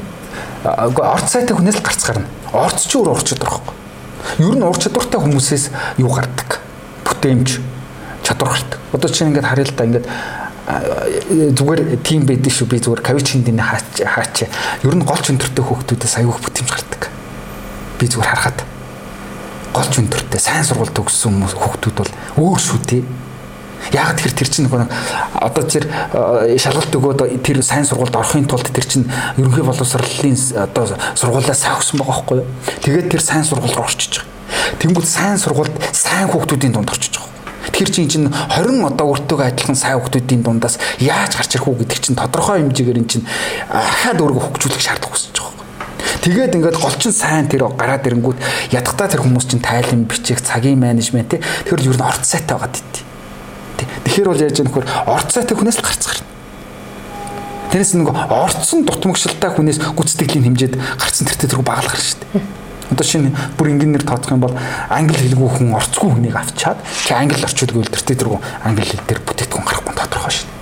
Орц сайтай хүнээс л гарц гарна. Орц ч өөр ур чадвар байхгүй. Ер нь ур чадвартай хүмүүсээс юу гардаг? Бүтээмж чадвар гардаг. Одоо чинь ингээд харъя л да ингээд зүгээр тим байдаг шүү. Би зүгээр кавичинд энэ хаач. Ер нь голч өндөртэй хүүхдүүдээс аягүй бүтээмж гардаг. Би зүгээр харахад голч өндөртэй сайн сургууль төгссөн хүүхдүүд бол өөр шүү тий. Яг тэр чинь нэг одоо тэр шалгалт өгөөд тэр сайн сургуульд орохын тулд тэр чинь ерөнхий боловсролын одоо сургуулиас сайн өгсөн байгаа байхгүй юу. Тэгээд тэр сайн сургууль руу орчиж байгаа. Тэнгүүд сайн сургуульд сайн хүүхдүүдийн дунд орчиж байгаа. Тэр чинь 20 одоо өртөөгөө адилхан сайн хүүхдүүдийн дундаас яаж гарч ирэх үү гэдэг чинь тодорхой хэмжээгээр эн чинь ахаад өөргөө хөгжүүлэх шаардлага үүсэж байгаа. Тэгээд ингээд голчин сайн тэр гараад ирэнгүүт ядахтаа тэр хүмүүс чинь тайлан бичих, цагийн менежмент тэр ер нь орц сайтай байгаад идэв. Тэгэхээр бол яаж яах вэ? Орц сайтай хүнээс л гарц гарна. Тэрнээс нэг орцсон дутмагшилтай хүнээс гүйцэтгэлийн хэмжээд гарцсан тэртээ тэргүй багал гарна шүү дээ. Одоо шинэ бүр инженеэр тооцох юм бол англи хэлгүй хүн орцгүй хүнийг авчаад чи англи орчуулгүй тэртээ тэргүй англи хэл дээр бүтээгдэхүүн гарахгүй тодорхой шүү дээ.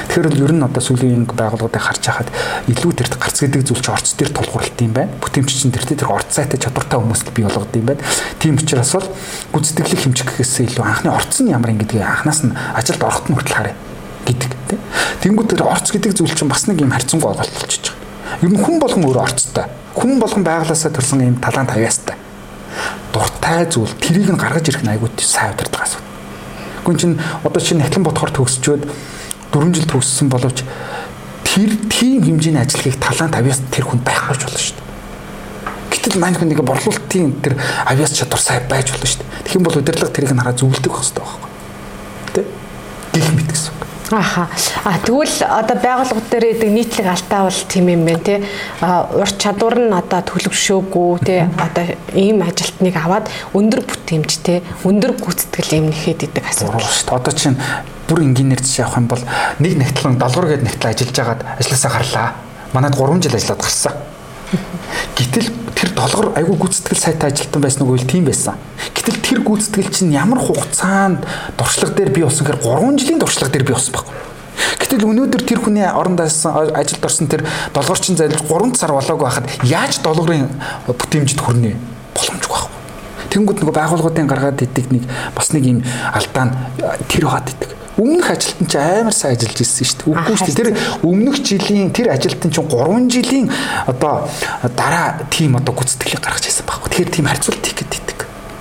Тэгэхээр ер нь одоо сүүлийн байгууллагуудыг харж байхад илүү тэр гарц гэдэг зүйл чинь орц дээр тулгуурлалт юм байна. Бүтээмжчин тэр орц сайтай чадвартай хүмүүст бий болгоод юм байна. Тийм учраас бол гүйцэтгэлийг хэмжихээс илүү анхны орц нь ямар юм гэдгийг анханаас нь ажилд орохт нь хүртэл харъя гэдэг тийм. Тэнгүүд тэр орц гэдэг зүйл чинь бас нэг юм харьцангуй ойлголт болчихж байгаа. Ер нь хүн болгон өөрөө орцтой. Хүн болгон байглаасаа төрсэн юм талант авьяастай. Дуртай зүйл тэрийг нь гаргаж ирэх нь айгүй сайн удирдаг асуудал. Гүн чинь одоо чинь Нахлан Ботхоор төгсчөөд 4 жил төгссөн боловч тэр тийм хэмжээний ажлыг талант авьяас тэр хүн байхгүй ч болно шүү дээ. Гэтэл маань хүн нэг борлуулалтын тэр авьяас чадвар сайн байж болно шүү дээ. Тэгэх юм бол удирдлага тэрийг нь хараа зөвлөдөг байх хэрэгтэй байхгүй. Тэ? Гэх мэт гэсэн. Аха. Тэгвэл одоо байгууллага дээр идэг нийтлэг алдаа бол тийм юм байна тий. Ур чадвар нь одоо төлөвшөөгүй тий. Одоо ийм ажилтныг аваад өндөр бүтээмжтэй, өндөр гүйцэтгэл юм нэхэд идэг асуудал шүү дээ. Одоо чинь бүр инженеэр жишээ авах юм бол нэг нэгтлэн долгор гээд нэгтэл ажиллаж байгаад ажилласаа гарлаа. Манайд 3 жил ажиллаад гарсан. Гэтэл тэр долгор айгүй гүйцэтгэл сайтай ажилтан байсан уу гэвэл тийм байсан. Гэтэл тэр гүйцэтгэл чинь ямар хугацаанд дуршлаг дээр бий болсон гэхээр 3 жилийн дуршлаг дээр бий болсон байхгүй. Гэтэл өнөөдөр тэр хүний оронд ажилд орсон тэр долгорчин зайлж 3 сар болоогүй байхад яаж долгорын бүтээмжид хүрнэ боломжгүй байхгүй. Тэнгүүд нөгөө байгууллагуудын гаргаад идэг нэг бас нэг юм алдаа нь тэр хаад идэг. Өмнөх ажилтан ч амар сайн ажиллаж ирсэн шүү дээ. Үгүй шүү дээ. Тэр өмнөх жилийн тэр ажилтан чинь 3 жилийн одоо дараа тим одоо гүйцэтгэлийг гаргаж ирсэн байхгүй. Тэгэхээр тийм харьцуулт хийх гэдэг.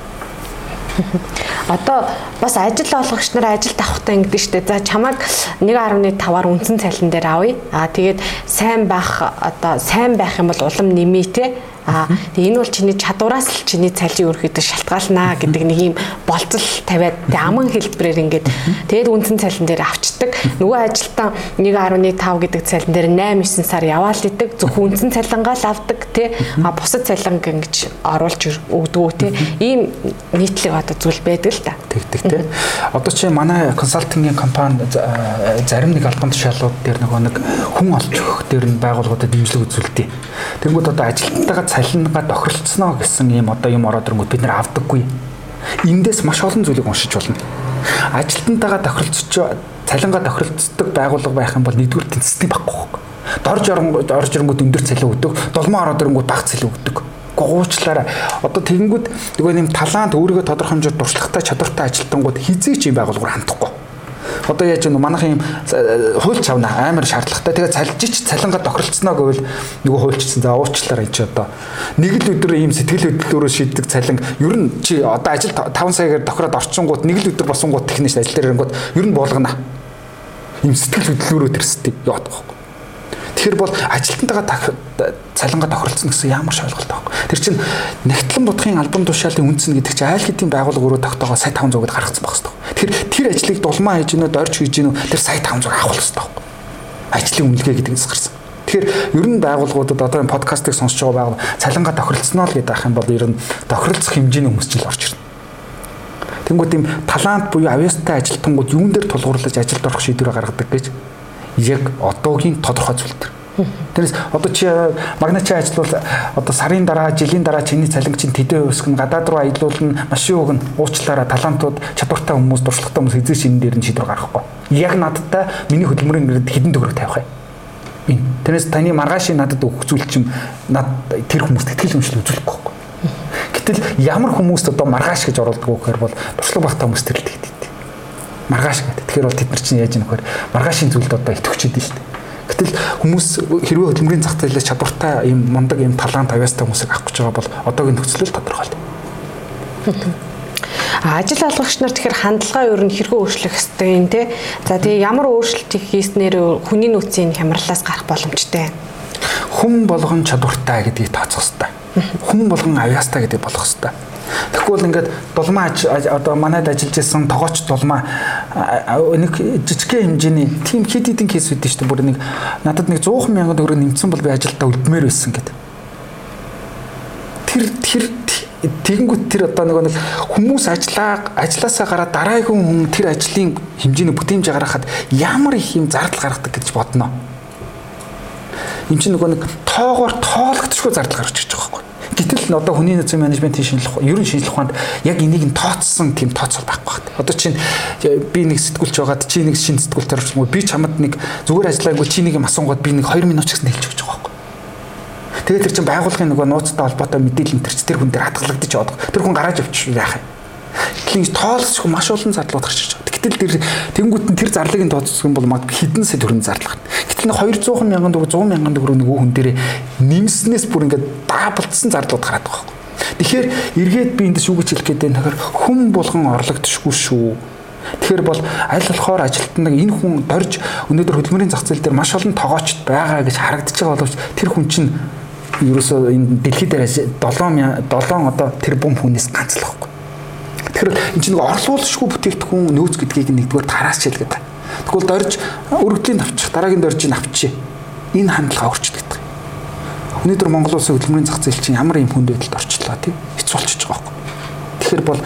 Одоо бас ажил олгогч нар ажилд авахтаа ингэдэж штэ. За чамайг 1.5-аар үндсэн цалин дээр авъя. Тэгээд сайн байх одоо сайн байх юм бол улам нэмээ те. Тэгээ энэ бол чиний чадвараас л чиний цалин өрхөдөж шалтгаалнаа гэдэг нэг юм болцол тавиад аман хэлбэрээр ингээд тэгээд үндсэн цалин дээр авчдаг. Нөгөө ажилтан 1.5 гэдэг цалин дээр 8-9 сар яваал идэг. Зөвхөн үндсэн цалингаа л авдаг тий. Бусад цалин ингэж оруулж өгдөг тий. Ийм нийтлэг одоо зүйл байдаг л та. Тэгдэг тий. Одоо чи манай консалтингийн компани зарим нэг албан тушаалууд дээр нэг хүн олж өгөх дээр нь байгууллагуудад дэмжлэг үзүүлдэг. Тэнгүүд одоо ажилтнтайгаа цалингаа тохиролцсноо гэсэн ийм одоо юм ороод ирэнгүүт бид нэр авдаггүй. Эндээс маш олон зүйлийг уншиж болно. Ажилтнтайгаа тохиролцож цалингаа тохиролцдог байгууллага байх юм бол нэгдүгээр тэнцвэртэй байхгүй. Орж ирэнгүүт өндөр цалин өгдөг, долмоо ороод ирэнгүүт бага цалин өгдөг. Гуучлаараа одоо тэгэнгүүт нөгөө нэм талант өөрийгөө тодорхой хэмжээгээр дуршлагатай чадвартай ажилтнууд хизээч юм байгууллагаар хандахгүй. Одоо яаж вэ манайхан юм хуульч авна амар шаардлагатай. Тэгээ цалжиж цалингаа тохиролцсноо гэвэл нөгөө хуульчсан за уучлаарай чи одоо нэг л өдөр ийм сэтгэл хөдлөлөөрөө шийддэг цалин ер нь чи одоо ажил 5 саягаар тохироод орчингууд нэг л өдөр босонгууд техник ажил дээр ирэнгүүт ер нь болгоно. Ийм сэтгэл хөдлөлөөрөө тэрсдэг яадаг байхгүй. Тэгэхээр бол ажилтнтайгаа цалингаа тохиролцсон гэсэн ямар ч ойлголт байхгүй. Тэр чинь Нахлан Будхын албан тушаалын үндсэн гэдэг чинь аль хэдийн байгууллага өөрөө тогтоогоо сая 500-д гаргацсан байх хэрэгтэй. Тэр ажлыг дулмаа хийж гинөө дорж хийж гинөө тэр сая 500 авах хэрэгтэй байхгүй. Ажлын үнэлгээ гэдэгээс гарсан. Тэгэхээр ер нь байгууллагуудад одоо энэ подкастыг сонсож байгаа байгууллага цалингаа тохиролцсноо л гэдэг ах юм бол ер нь тохиролцох хэмжээний хүмүүс ч л орж ирнэ. Тэнгүүд ийм талант буюу авьяастай ажилтнууд юун дээр тулгуурлаж ажилд орох шийдвэрээ гаргадаг гэж яг одоогийн тодорхой зүйл төр. Тэрнээс одоо чи магначи ажиллавал одоо сарын дараа, жилийн дараа чиний цалин чинь тэдээ өсгөн гадаад руу аялуулна, машин өгнө, уучлаараа талантууд, чадвартай хүмүүс, дуршлагатай хүмүүс эзэн шинэ дээр нь шийдвэр гаргахгүй. Яг надтай миний хөдөлмөрийн гэрд хэдэн төгрөг тавих вэ? Энэ. Тэрнээс таны маргаашийн надад өгөх зүйл чинь над тэр хүмүүст итгэл үнэмшил үзүүлэхгүй байхгүй. Гэтэл ямар хүмүүст одоо маргааш гэж оруулдаг вэ гэхээр бол дуршлаг багтаа хүмүүс тэр л тэгдэг. Маргааш гэдэг. Тэгэхээр бол тэд нар чинь яаж нөхөр маргаашийн зүйлд одоо итгэвч идэв шүү дээ. Гэтэл хүмүүс хэрвээ хөдөлмөрийн зах зээлээс чадвартай ийм мундаг ийм талант авьяастай хүмүүсийг авах гэж байгаа бол одоогийн нөхцөл тодорхой л. Ажил олгогч нар тэгэхээр хандлага ер нь хэрхэн өөрчлөх ёстой юм те. За тэгээ ямар өөрчлөлтийг хийснээр хүний нөөцийн хямралаас гарах боломжтой. Хүн болгон чадвартай гэдгийг тооцох ёстой. Хүн болгон авьяастай гэдэг болох ёстой. Тэгвэл ингээд дулмаа одоо манайд ажиллаж исэн тогооч дулмаа нэг жижиг хэмжээний тийм хэд хэдэн кейс үүдэн шүү дээ. Бүр нэг надад нэг 100,000 төгрөг нэмсэн бол би ажилдаа үлдмээр байсан гэдэг. Тэр тэгэнгүүт тэр одоо нэг хүмүүс ажилласаа гараад дараагийн хүн тэр ажлын хэмжээний бүтээмж гаргахад ямар их юм зардал гаргадаг гэж бодно. Энд чинь нэг тоогоор тоологдчихгүй зардал гарч ирж байгаа байхгүй. Гэтэл л одоо хүний нөөцийн менежментийн шинжилгээ ерөн шинжилгээ ухаанд яг энийг нь тооцсон тийм тооцол байхгүй байна. Одоо чинь би нэг сэтгүүлч байгаад чи нэг шинэ сэтгүүлтэй орчихмоо би чамд нэг зүгээр ажиллаагүй чи нэг юм асуугаад би нэг 2 минут ч гэсэн хэлж өгч байгаа байхгүй. Тэгээд тэр чинь байгууллагын нөгөө нууцтай холбоотой мэдээлэл энэ тэр хүн дээр хадгалагдчих яваад. Тэр хүн гараад явчих яах юм. Тэгэхээр тоолсох маш олон зарлууд гарч ирж байгаа. Гэтэл тэр тэнгуут нь тэр зарлыг нь тооцох юм бол магадгүй хэдэн сая төгрөгийн зарлах. Гэтэл 200 мянган төгрөг 100 мянган төгрөг нөгөө хүн дээр нэмснээс бүр ингээд даабалцсан зарлууд гараад байгаа юм. Тэгэхээр эргээд би эндээс юу гэж хэлэх гээд байна гэхээр хүн болгон орлогдчихгүй шүү. Тэгэхээр бол аль болохоор ажилтнаа энэ хүн дорж өнөөдөр хөдөлмөрийн зах зээл дээр маш олон тоогоочд байгаа гэж харагдаж байгаа боловч тэр хүн чинь ерөөсөө энэ дэлхийд дээр 7 одоо тэр бум хүнээс ганц л байхгүй. Тэгэхээр энэ чинь нэг орлуулшгүй бүтээгдэхүүн нөөц гэдгийг нэгдүгээр тараас хэлгээд. Тэгвэл дорж өргөдлийн авчих дараагийн доржийг авчи. Энэ хандлага өөрчлөгдөх. Өнөөдөр Монгол улсын хөдөлмөрийн зах зээл чинь ямар юм хүнд байдалд орчлоо тийм хэцүү болчихж байгаа байхгүй. Тэгэхээр бол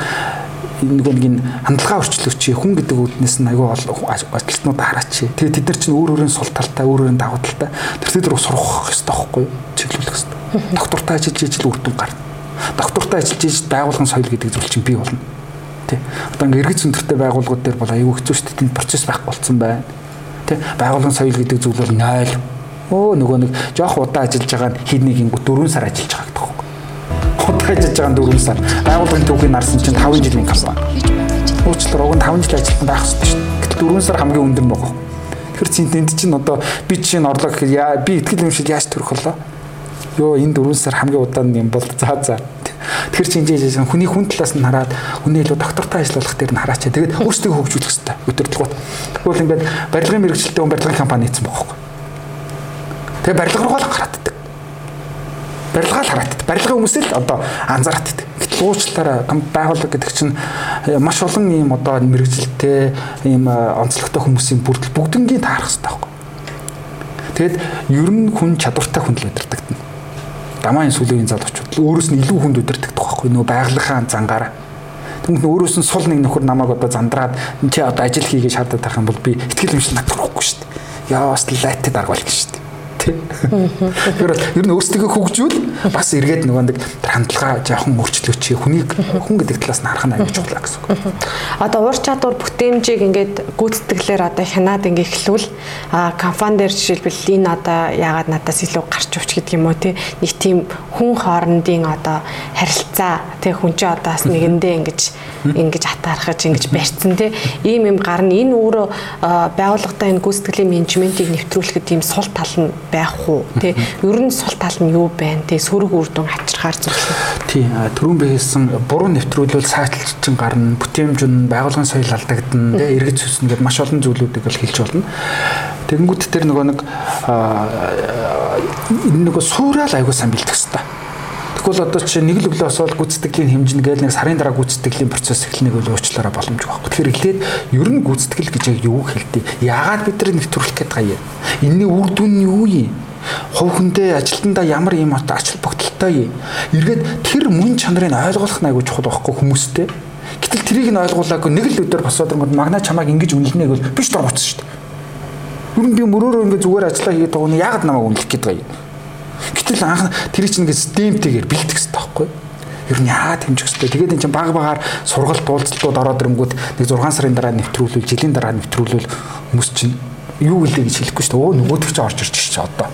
нэг хандлага өөрчлөгч хүн гэдэг үүднээс нь аюул ажилтнууд хараач. Тэгээ тэд нар чинь өөр өөрийн сул талтай, өөр өөрийн давуу талтай тэр рүү сурах хэрэгтэй байхгүй юу? Чиглүүлэх хэрэгтэй. Доктортай ажиллаж үр дүн гарна. Доктортай ажиллаж байгуулгын соёл гэдэг зүйл чинь бий болно. Тэ. Одоо иргэц өндөртэй байгууллагууд дээр бол аюул хэцүү шүү дээ. Тэнд процесс байхгүй болцсон байна. Тэ. Байгуулгын соёл гэдэг зүйл бол 0. Нөгөө нэг жоох удаа ажиллаж байгаа нь хэд нэг 4 сар ажиллаж байгаа гэдэг байхгүй. Удаа ажиллаж байгаа 4 сар. Байгуулгын төвхийг нарсан чинь 5 жилийн компани. Уучлаарай, уг нь 5 жил ажилласан байх хэрэгтэй шүү дээ. Гэтэл 4 сар хамгийн өндөр байгаа. Тэр чинь энд чинь одоо би чинь орлого гэхээр би итгэл юмшил яаж төрөх болоо? Йоо энэ 4 сар хамгийн удаан юм бол за. Тэгэхээр чи энэ хүний хүн талаас нь хараад хүний илүү доктортой ажиллах дээр нь хараачаа. Тэгээд өөрсдөө хөгжүүлэх хэрэгтэй. Өдөртлгүүд. Тэгвэл ингээд барилгын мэргэжилтэд барилгын компани хийсэн байгаа байхгүй. Тэгээ барилга руу л гарааддаг. Барилгаа л хараад. Барилгын хүмүүсэл одоо анзаараад. Гэтэл уучлаарай байгууллага гэдэг чинь маш олон ийм одоо мэргэжилтэй ийм онцлогтой хүмүүсийн бүрдэл бүгднгийн таарах хэрэгтэй байхгүй. Тэгэд ер нь хүн чадвартай хүн л өдөртөгдөн. Дамааны сүлээгийн залуучууд өөрөөс нь илүү хүнд өдөртөгдөх байхгүй нөгөө байгалийнхаа зангаараа. Тэгмээ өөрөөс нь сул нэг нөхөр намайг одоо зандраад чи одоо ажил хийгээ шаардаад байх юм бол би итгэл юмшил надахгүй шүү дээ. Яас лайтад аргуул гэж шүү дээ. Тэгэхээр ер нь өөрсдөө хөгжүүл бас эргээд нөгөө нэг хандлага жоохон өөрчлөөч хүнийг хүн гэдэг талаас нь харах нь аюул чухал гэсэн үг. Одоо уур чадвар бүтээмжийг ингээд гүйцэтгэлээр одоо хянаад ингээ эхлүүл компани дээр жишээлбэл энэ одоо яагаад надаас илүү гарч өвч гэдэг юм уу те нэг тийм хүн хоорондын одоо харилцаа те хүн чи одоо бас нэгэндээ ингэж атаархаж ингэж барьцсан те ийм юм гарна энэ өөрөө байгууллагатай энэ гүйцэтгэлийн менежментийг нэвтрүүлэхэд тийм сул тал нь байх уу тий ер нь сул тал нь юу байна тий сөрөг үр дүн авчирхаар зөвлөх. Тий түрүүн би хэлсэн буруу нэвтрүүлвэл саачлалчин гарна бүтээмж нь байгуулгын соёл алдагдана тий эргэж сүснэ гэдээ маш олон зүйлүүдийг л хэлж болно. Тэгэнгүүт тэр нэг суурал аягүй сайн бэлдэх хэрэгтэй. Тэгвэл одоо чи нэг л өглөө освол гүйцэтгэлийн хэмжин гээл нэг сарын дараа гүйцэтгэлийн процесс эхлэнийг үл уучлаарай боломжгүй байхгүй. Тэгэхээр эхлээд ер нь гүйцэтгэл гэж яг юу хэлдэг? Яагаад бид нар нэвтрүүлэх гээд байгаа юм? Энэний үр дүн нь юу юм? Хувь хүндээ ажилтнаа ямар юм одоо ач холбогдолтой юм? Эргээд тэр мөн чанарыг ойлгох нь аягүй чухал байхгүй хүмүүстэй. Гэтэл тэрийг нь ойлгуулаагүй нэг л өдөр босоод ирэнгүүт магнаа чамайг ингэж үнэлнэ гэвэл биш дургуцсан шүү дээ. Ер нь би мөрөөрөө ингэ зүгээр ажиллаа хийгээд байгаа нь яагаад намайг үнэлэх гээд байгаа юм? Гэтэл анх тэр чинь ингээд системтэйгээр бэлдэх хэрэгтэй байхгүй. Ер нь яагаад хэмжих хэрэгтэй. Тэгээд энэ чинь баг-багаар сургалт уулзалтууд ороод ирэнгүүт нэг 6 сарын дараа нэвтрүүлвэл, жилийн дараа нэвтрүүлвэл хүмүүс чинь юу гэлээ гэж хэлэхгүй шүү дээ. Нөгөөдөг чинь орж ирчих чи одоо.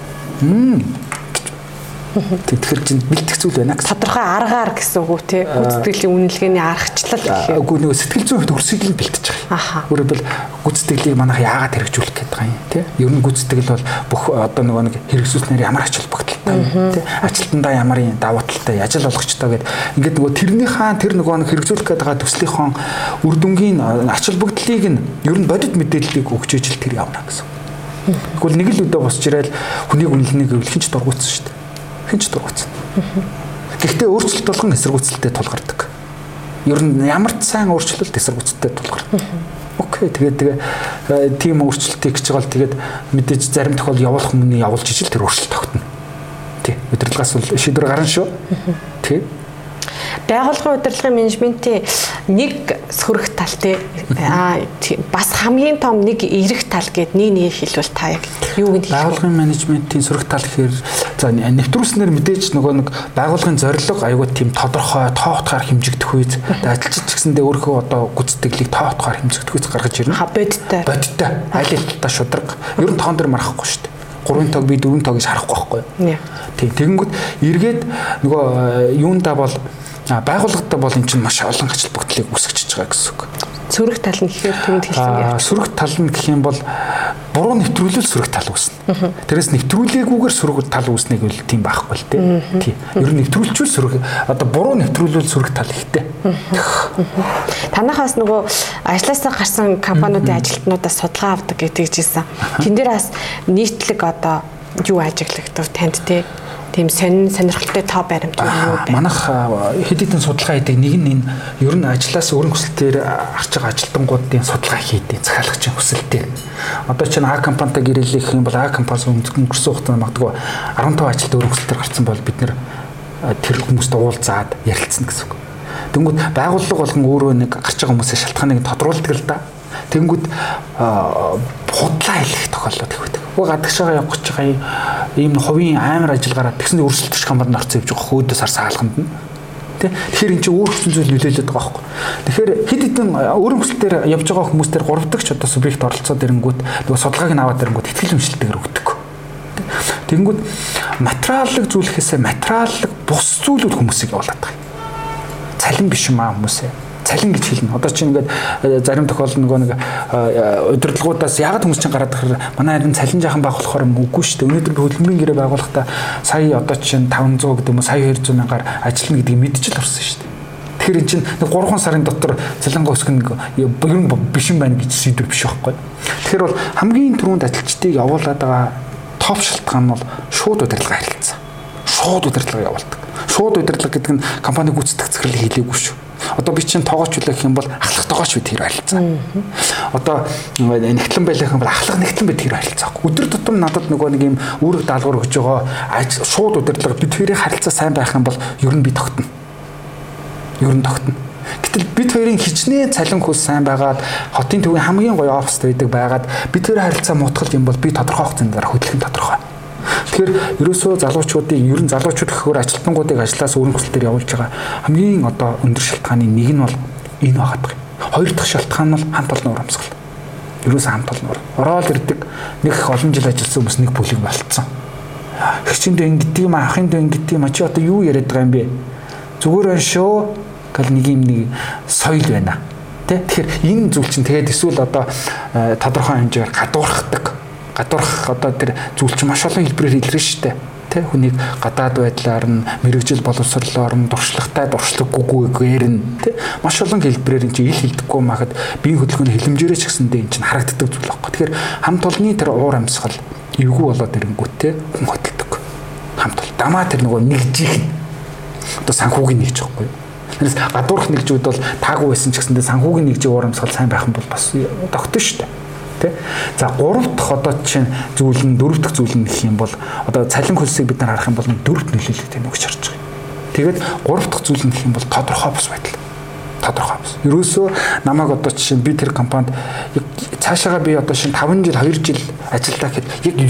Тэгэхээр чинь бэлтгэх зүйл байна гэсэн. Тодорхой аргаар гэсэн үг үү те гүйцэтгэлийн үнэлгээний аргачлал гэх юм. Үгүй нөгөө сэтгэл зүйн төгсгийг л бэлтэж байгаа. Өөрөөр гүйцэтгэлийг манайх яагаад хэрэгжүүлэх гээд байгаа юм те. Ер нь гүйцэтгэл бол бүх одоо нөгөө нэг хэрэгжүүлснээр ямар ач холбогдолтой те. Ажилтнаа ямар давуу талтай, ажил олгогчтой гэдэг ингээд нөгөө тэрнийхээ тэр нөгөө хэрэгжүүлэх гээд байгаа төслийнхөө үр дүнгийн ач холбогдлыг нь ер нь бодит мэдээллийг өгч ижил тэр явна гэсэн. Тэгвэл нэг л өдөө босч ирэл хүнийг үнэлнэ гэвэл хинч дургуутсан шүү дээ. Хинч дургуутсан. Гэхдээ өөрчлөлт болгон эсэргүүцэлтэй тулгардаг. Ер нь ямар ч сайн өөрчлөлт эсэргүүцэлтэй тулгардаг. Окей, тэгээ тийм өөрчлөлтийг гэж байгаа л тэгээд мэдээж зарим тохиол явуулах хүмүүний явуулж ижил тэр өөрчлөлт тогтно. Тий. Удирдлагаас бол шийдвэр гарна шүү. Тий. Байгууллагын удирдлагын менежментийн нэг сөрөг тал тий бас хамгийн том нэг эрэг тал гээд нэг хэлвэл та яг юу гэж байгууллагын менежментийн сөрөг тал гэхээр За нэвтрүүлснээр мэдээж нөгөө нэг байгууллагын зорилго аюул тийм тодорхой тоо утгаар хэмжигдэх үйс ажилчид ч гэсэндээ өөрийнхөө одоо гүйцэтгэлийг тоо утгаар хэмжигдэх үйс гаргаж ирнэ. Бодиттой. Аль хэлтаа шударга. Ер нь тоон дээр марахгүй шүү дээ. 3 тог би 4 тог гэж харахгүй байхгүй юу? Тийм. Тэгэнгүүт эргээд нөгөө юундаа бол байгууллагатай бол эн чинь маш олон ач холбогдлыг үүсгэж байгаа гэсэн үг. Сөрөг тал нь гэхээр түнд хэлсэн юм. Сөрөг тал нь гэх юм бол буруу нэвтрүүлэл сөрөг тал үүснэ. Тэрээс нэвтрүүлээгүйгээр сөрөг тал үүснэг үл тийм байхгүй л дээ. Тийм. Ер нь нэвтрүүлчүүл сөрөг одоо буруу нэвтрүүлвэл сөрөг тал ихтэй. Танахаас нөгөө ажлаасаа гарсан компаниудын ажилтнуудаас судалгаа авдаг гэж хэлсэн. Тэн дээр бас нийтлэг одоо юу ажиглагдав танд тийм сонирхолтой тоо баримт юу бэ? Манайх хэд хэдэн судалгаа хийдэг. Нэг нь энэ ер нь ажлаас өрн хүсэлтээр харж байгаа ажилтнуудын судалгаа хийдэг. Захиалагчийн хүсэлтээр. Одоо чинь А компанитай гэрээлэх юм бол А компаниас өнгөрсөн хугацаанд магадгүй 15 ажилт өрн хүсэлтээр гарсан бол бид нэр тэр хүмүүстэй уулзаад ярилцсан гэсэн үг. Тэнгүүд байгууллага болгон өөрөө нэг гарч байгаа хүмүүсийн шалтгааныг тодруулдаг л да. Тэнгүүд худлаа хэлэх тохиолдол их байдаг. Гадагшаага явах гэж байгаа ийм хувийн амар ажиллагаараа тэгсэндээ өрсөлдөгч компанид орцсон явж байгаа хөөдөөс харсан хаалганд нь. Тэгэхээр эн чинь өөр хүчин зүйл нөлөөлөд байгаа байхгүй. Тэгэхээр хэд хэдэн өөрийн хүсэлтээр явж байгаа хүмүүстээр 3 дахь ч одоо субъект оролцоод ирэнгүүт нөгөө судалгааг нь аваад ирэнгүүт ихтгэл үнэлтэйгээр өгдөг. Тэнгүүд материаллык зүйлхээсээ материаллык бус зүйлүүд хүмүүсийг явуулаад байгаа. Цалин биш юм аа хүмүүсээ. Цалин гэж хэлнэ. Одоо чинь ингээд зарим тохиолдолд нөгөө нэг удирдлагуудаас ягаад хүмүүс чинь гараад ирэх манай харин цалин жаахан баг болохоор үгүй шүү дээ. Өнөөдөр би хөдөлмөрийн гэрээ байгуулахдаа сая одоо чинь 500 гэдэг юм уу сая 200 мянгаар ажиллана гэдгийг мэдчихэл орсон шүү дээ. Тэгэхээр эн чинь 3 сарын дотор цалингаа өсгөх нь ер нь биш юм байна гэж сэдвэр биш байхгүй. Тэгэхээр бол хамгийн түрүүнд ажилчдыг явуулаад байгаа топ шалтгаан нь бол шууд удирдлага харилцаа. Шууд удирдлага явуулдаг. Шууд удирдлага гэдэг нь компани гүйцэтгэх захирлыг хийлээгүй шүү. Одоо би чинь тоогоочлаа гэх юм бол ахлах тоогооч бид тэр харилцаа. Одоо нэгтлэн байлах юм бол ахлах нэгтлэн бид тэр харилцаа. Өдөр тутам надад нөгөө нэг юм үүрэг даалгавар өгж байгаа шууд удирдлага бид хоёрын харилцаа сайн байх юм бол ер нь би тогтно. Ер нь тогтно. Гэтэл бид хоёрын хичнээн цалин хөлс сайн байгаад хотын төвийн хамгийн гоё оффист байгаад бид хоёрын харилцаа мутгал юм бол би тодорхой хугацаанд дараа хөдөлгөөн тодорхой. Тэгэхээр ерөөсөө залуучуудыг ер нь залуучууд гэхээр ажилтнуудыг ажлаас өрн хүсэлтээр явуулж байгаа хамгийн одоо өндөр шалтгааны нэг нь бол энэ байгаад байгаа. Хоёр дахь шалтгаан нь бол хамт олон урамсгал. Ерөөсөө хамт олон ороод ирдэг нэг их олон жил ажилласан хүмүүс нэг бүлэг болцсон. Хичээндээ ингэдэг юм ахын дэ ингэдэг юм чи одоо юу яриад байгаа юм бэ? Зүгээр байна шүү гэл нэг юм нэг соёл байна. Тэгэхээр энэ зүйл чинь тэгээд эсвэл одоо тодорхой хэмжээгээр гадуурх одоо тэр зүйл чинь маш олон хэлбэрээр илэрнэ шүү дээ. Тэ хүнийг гадаад байдлаар нь мэрэгжил боловсрлоор нь дуршлагтай дуршлаггүйгээр нь тэ маш олон хэлбэрээр энэ чинь ил хэлдэггүй махад биеийн хөдөлгөөний хилэмжээрээ ч гэсэндээ энэ чинь харагддаг зүйл байхгүй. Тэгэхээр хамт олонний тэр уур амьсгал эвгүй болоод ирэнгүүт тэ хүн хөдөлдөг. Хамт ол дамаа тэр нөгөө нэгжих одоо санхүүгийн нэгж байхгүй юу. Тэрс гадуурх нэгжүүд бол таагүй байсан ч гэсэндээ санхүүгийн нэгжийн уур амьсгал сайн байх юм бол бас тогтно шүү дээ. За 3 дахь одоо жишээ нь зүйл нь 4 дахь зүйл нь гэх юм бол одоо цалин хөлсийг бид нар харах юм бол 4-т нөлөөлөлтэй нүгч харж байгаа. Тэгээд 3 дахь зүйл нь гэх юм бол тодорхой бус байдал. Тодорхой бус. Ерөөсөө намайг одоо жишээ нь би тэр компанид цаашаага би одоо шин 5 жил 2 жил ажиллаа гэхэд яг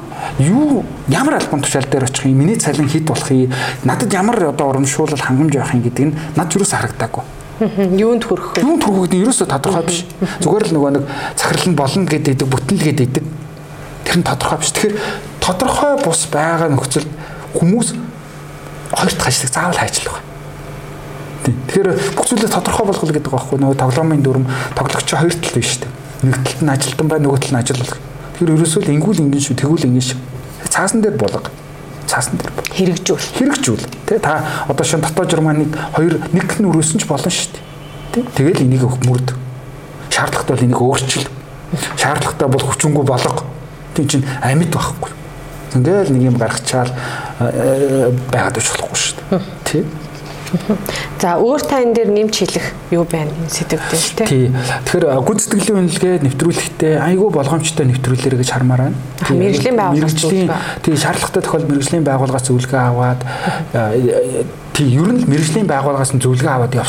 юу ямар албан тушаал дээр очих юм миний цалин хэд болох юм надад ямар одоо урамшуулал хангамж байх юм гэдэг нь над юусаа харагдаагүй. Юунд хүрэх вэ? Юунд хүрэх гэдэг нь ерөөсөө тодорхой биш. Зүгээр л нөгөө нэг захирал нь болно гэдэг бүтэнлгээд идэг. Тэр нь тодорхой биш. Тэгэхээр тодорхой бус байгаа нөхцөлд хүмүүс хоёр дахь ажлыг заавал хайчлах байна. Тэгэхээр бүх зүйлээ тодорхой болгох гэдэг байгаа байхгүй нөгөө тоглоомын дүрм тоглогч хоёр тал биш шүү дээ. Нэг талд нь ажилтан бай, нөгөө талд нь ажиллах. Тэгэхээр ерөөсөө л ингүүл ингэн шүү, тэгүүл ингэн шүү. Цаасан дээр болго. Цаасан дээр хэрэгжүүл тий та одоо шин дотоод журманыг нэг нь өрөөсөн ч болно шүү дээ тий тэгэл энийг мөрд шаардлагатай бол энийг өөрчил шаардлагатай бол хүчингүй болго тий чин амьд байхгүй ингээл нэг юм гаргачаал байгаад байж болохгүй шүү дээ тий. За өөр та энэ дээр нэмж хэлэх юу байна энэ сэдвээр тий. Тэгэхээр гүйцэтгэлийн үнэлгээ нэвтрүүлэхдээ айгүй болгоомжтой нэвтрүүлэрэ гэж хармаар байна. Мэргэжлийн байгууллагын тий шаардлагатай тохиолдолд мэргэжлийн байгууллагаас зөвлөгөө аваад тий ер нь мэргэжлийн байгууллагаас зөвлөгөө аваад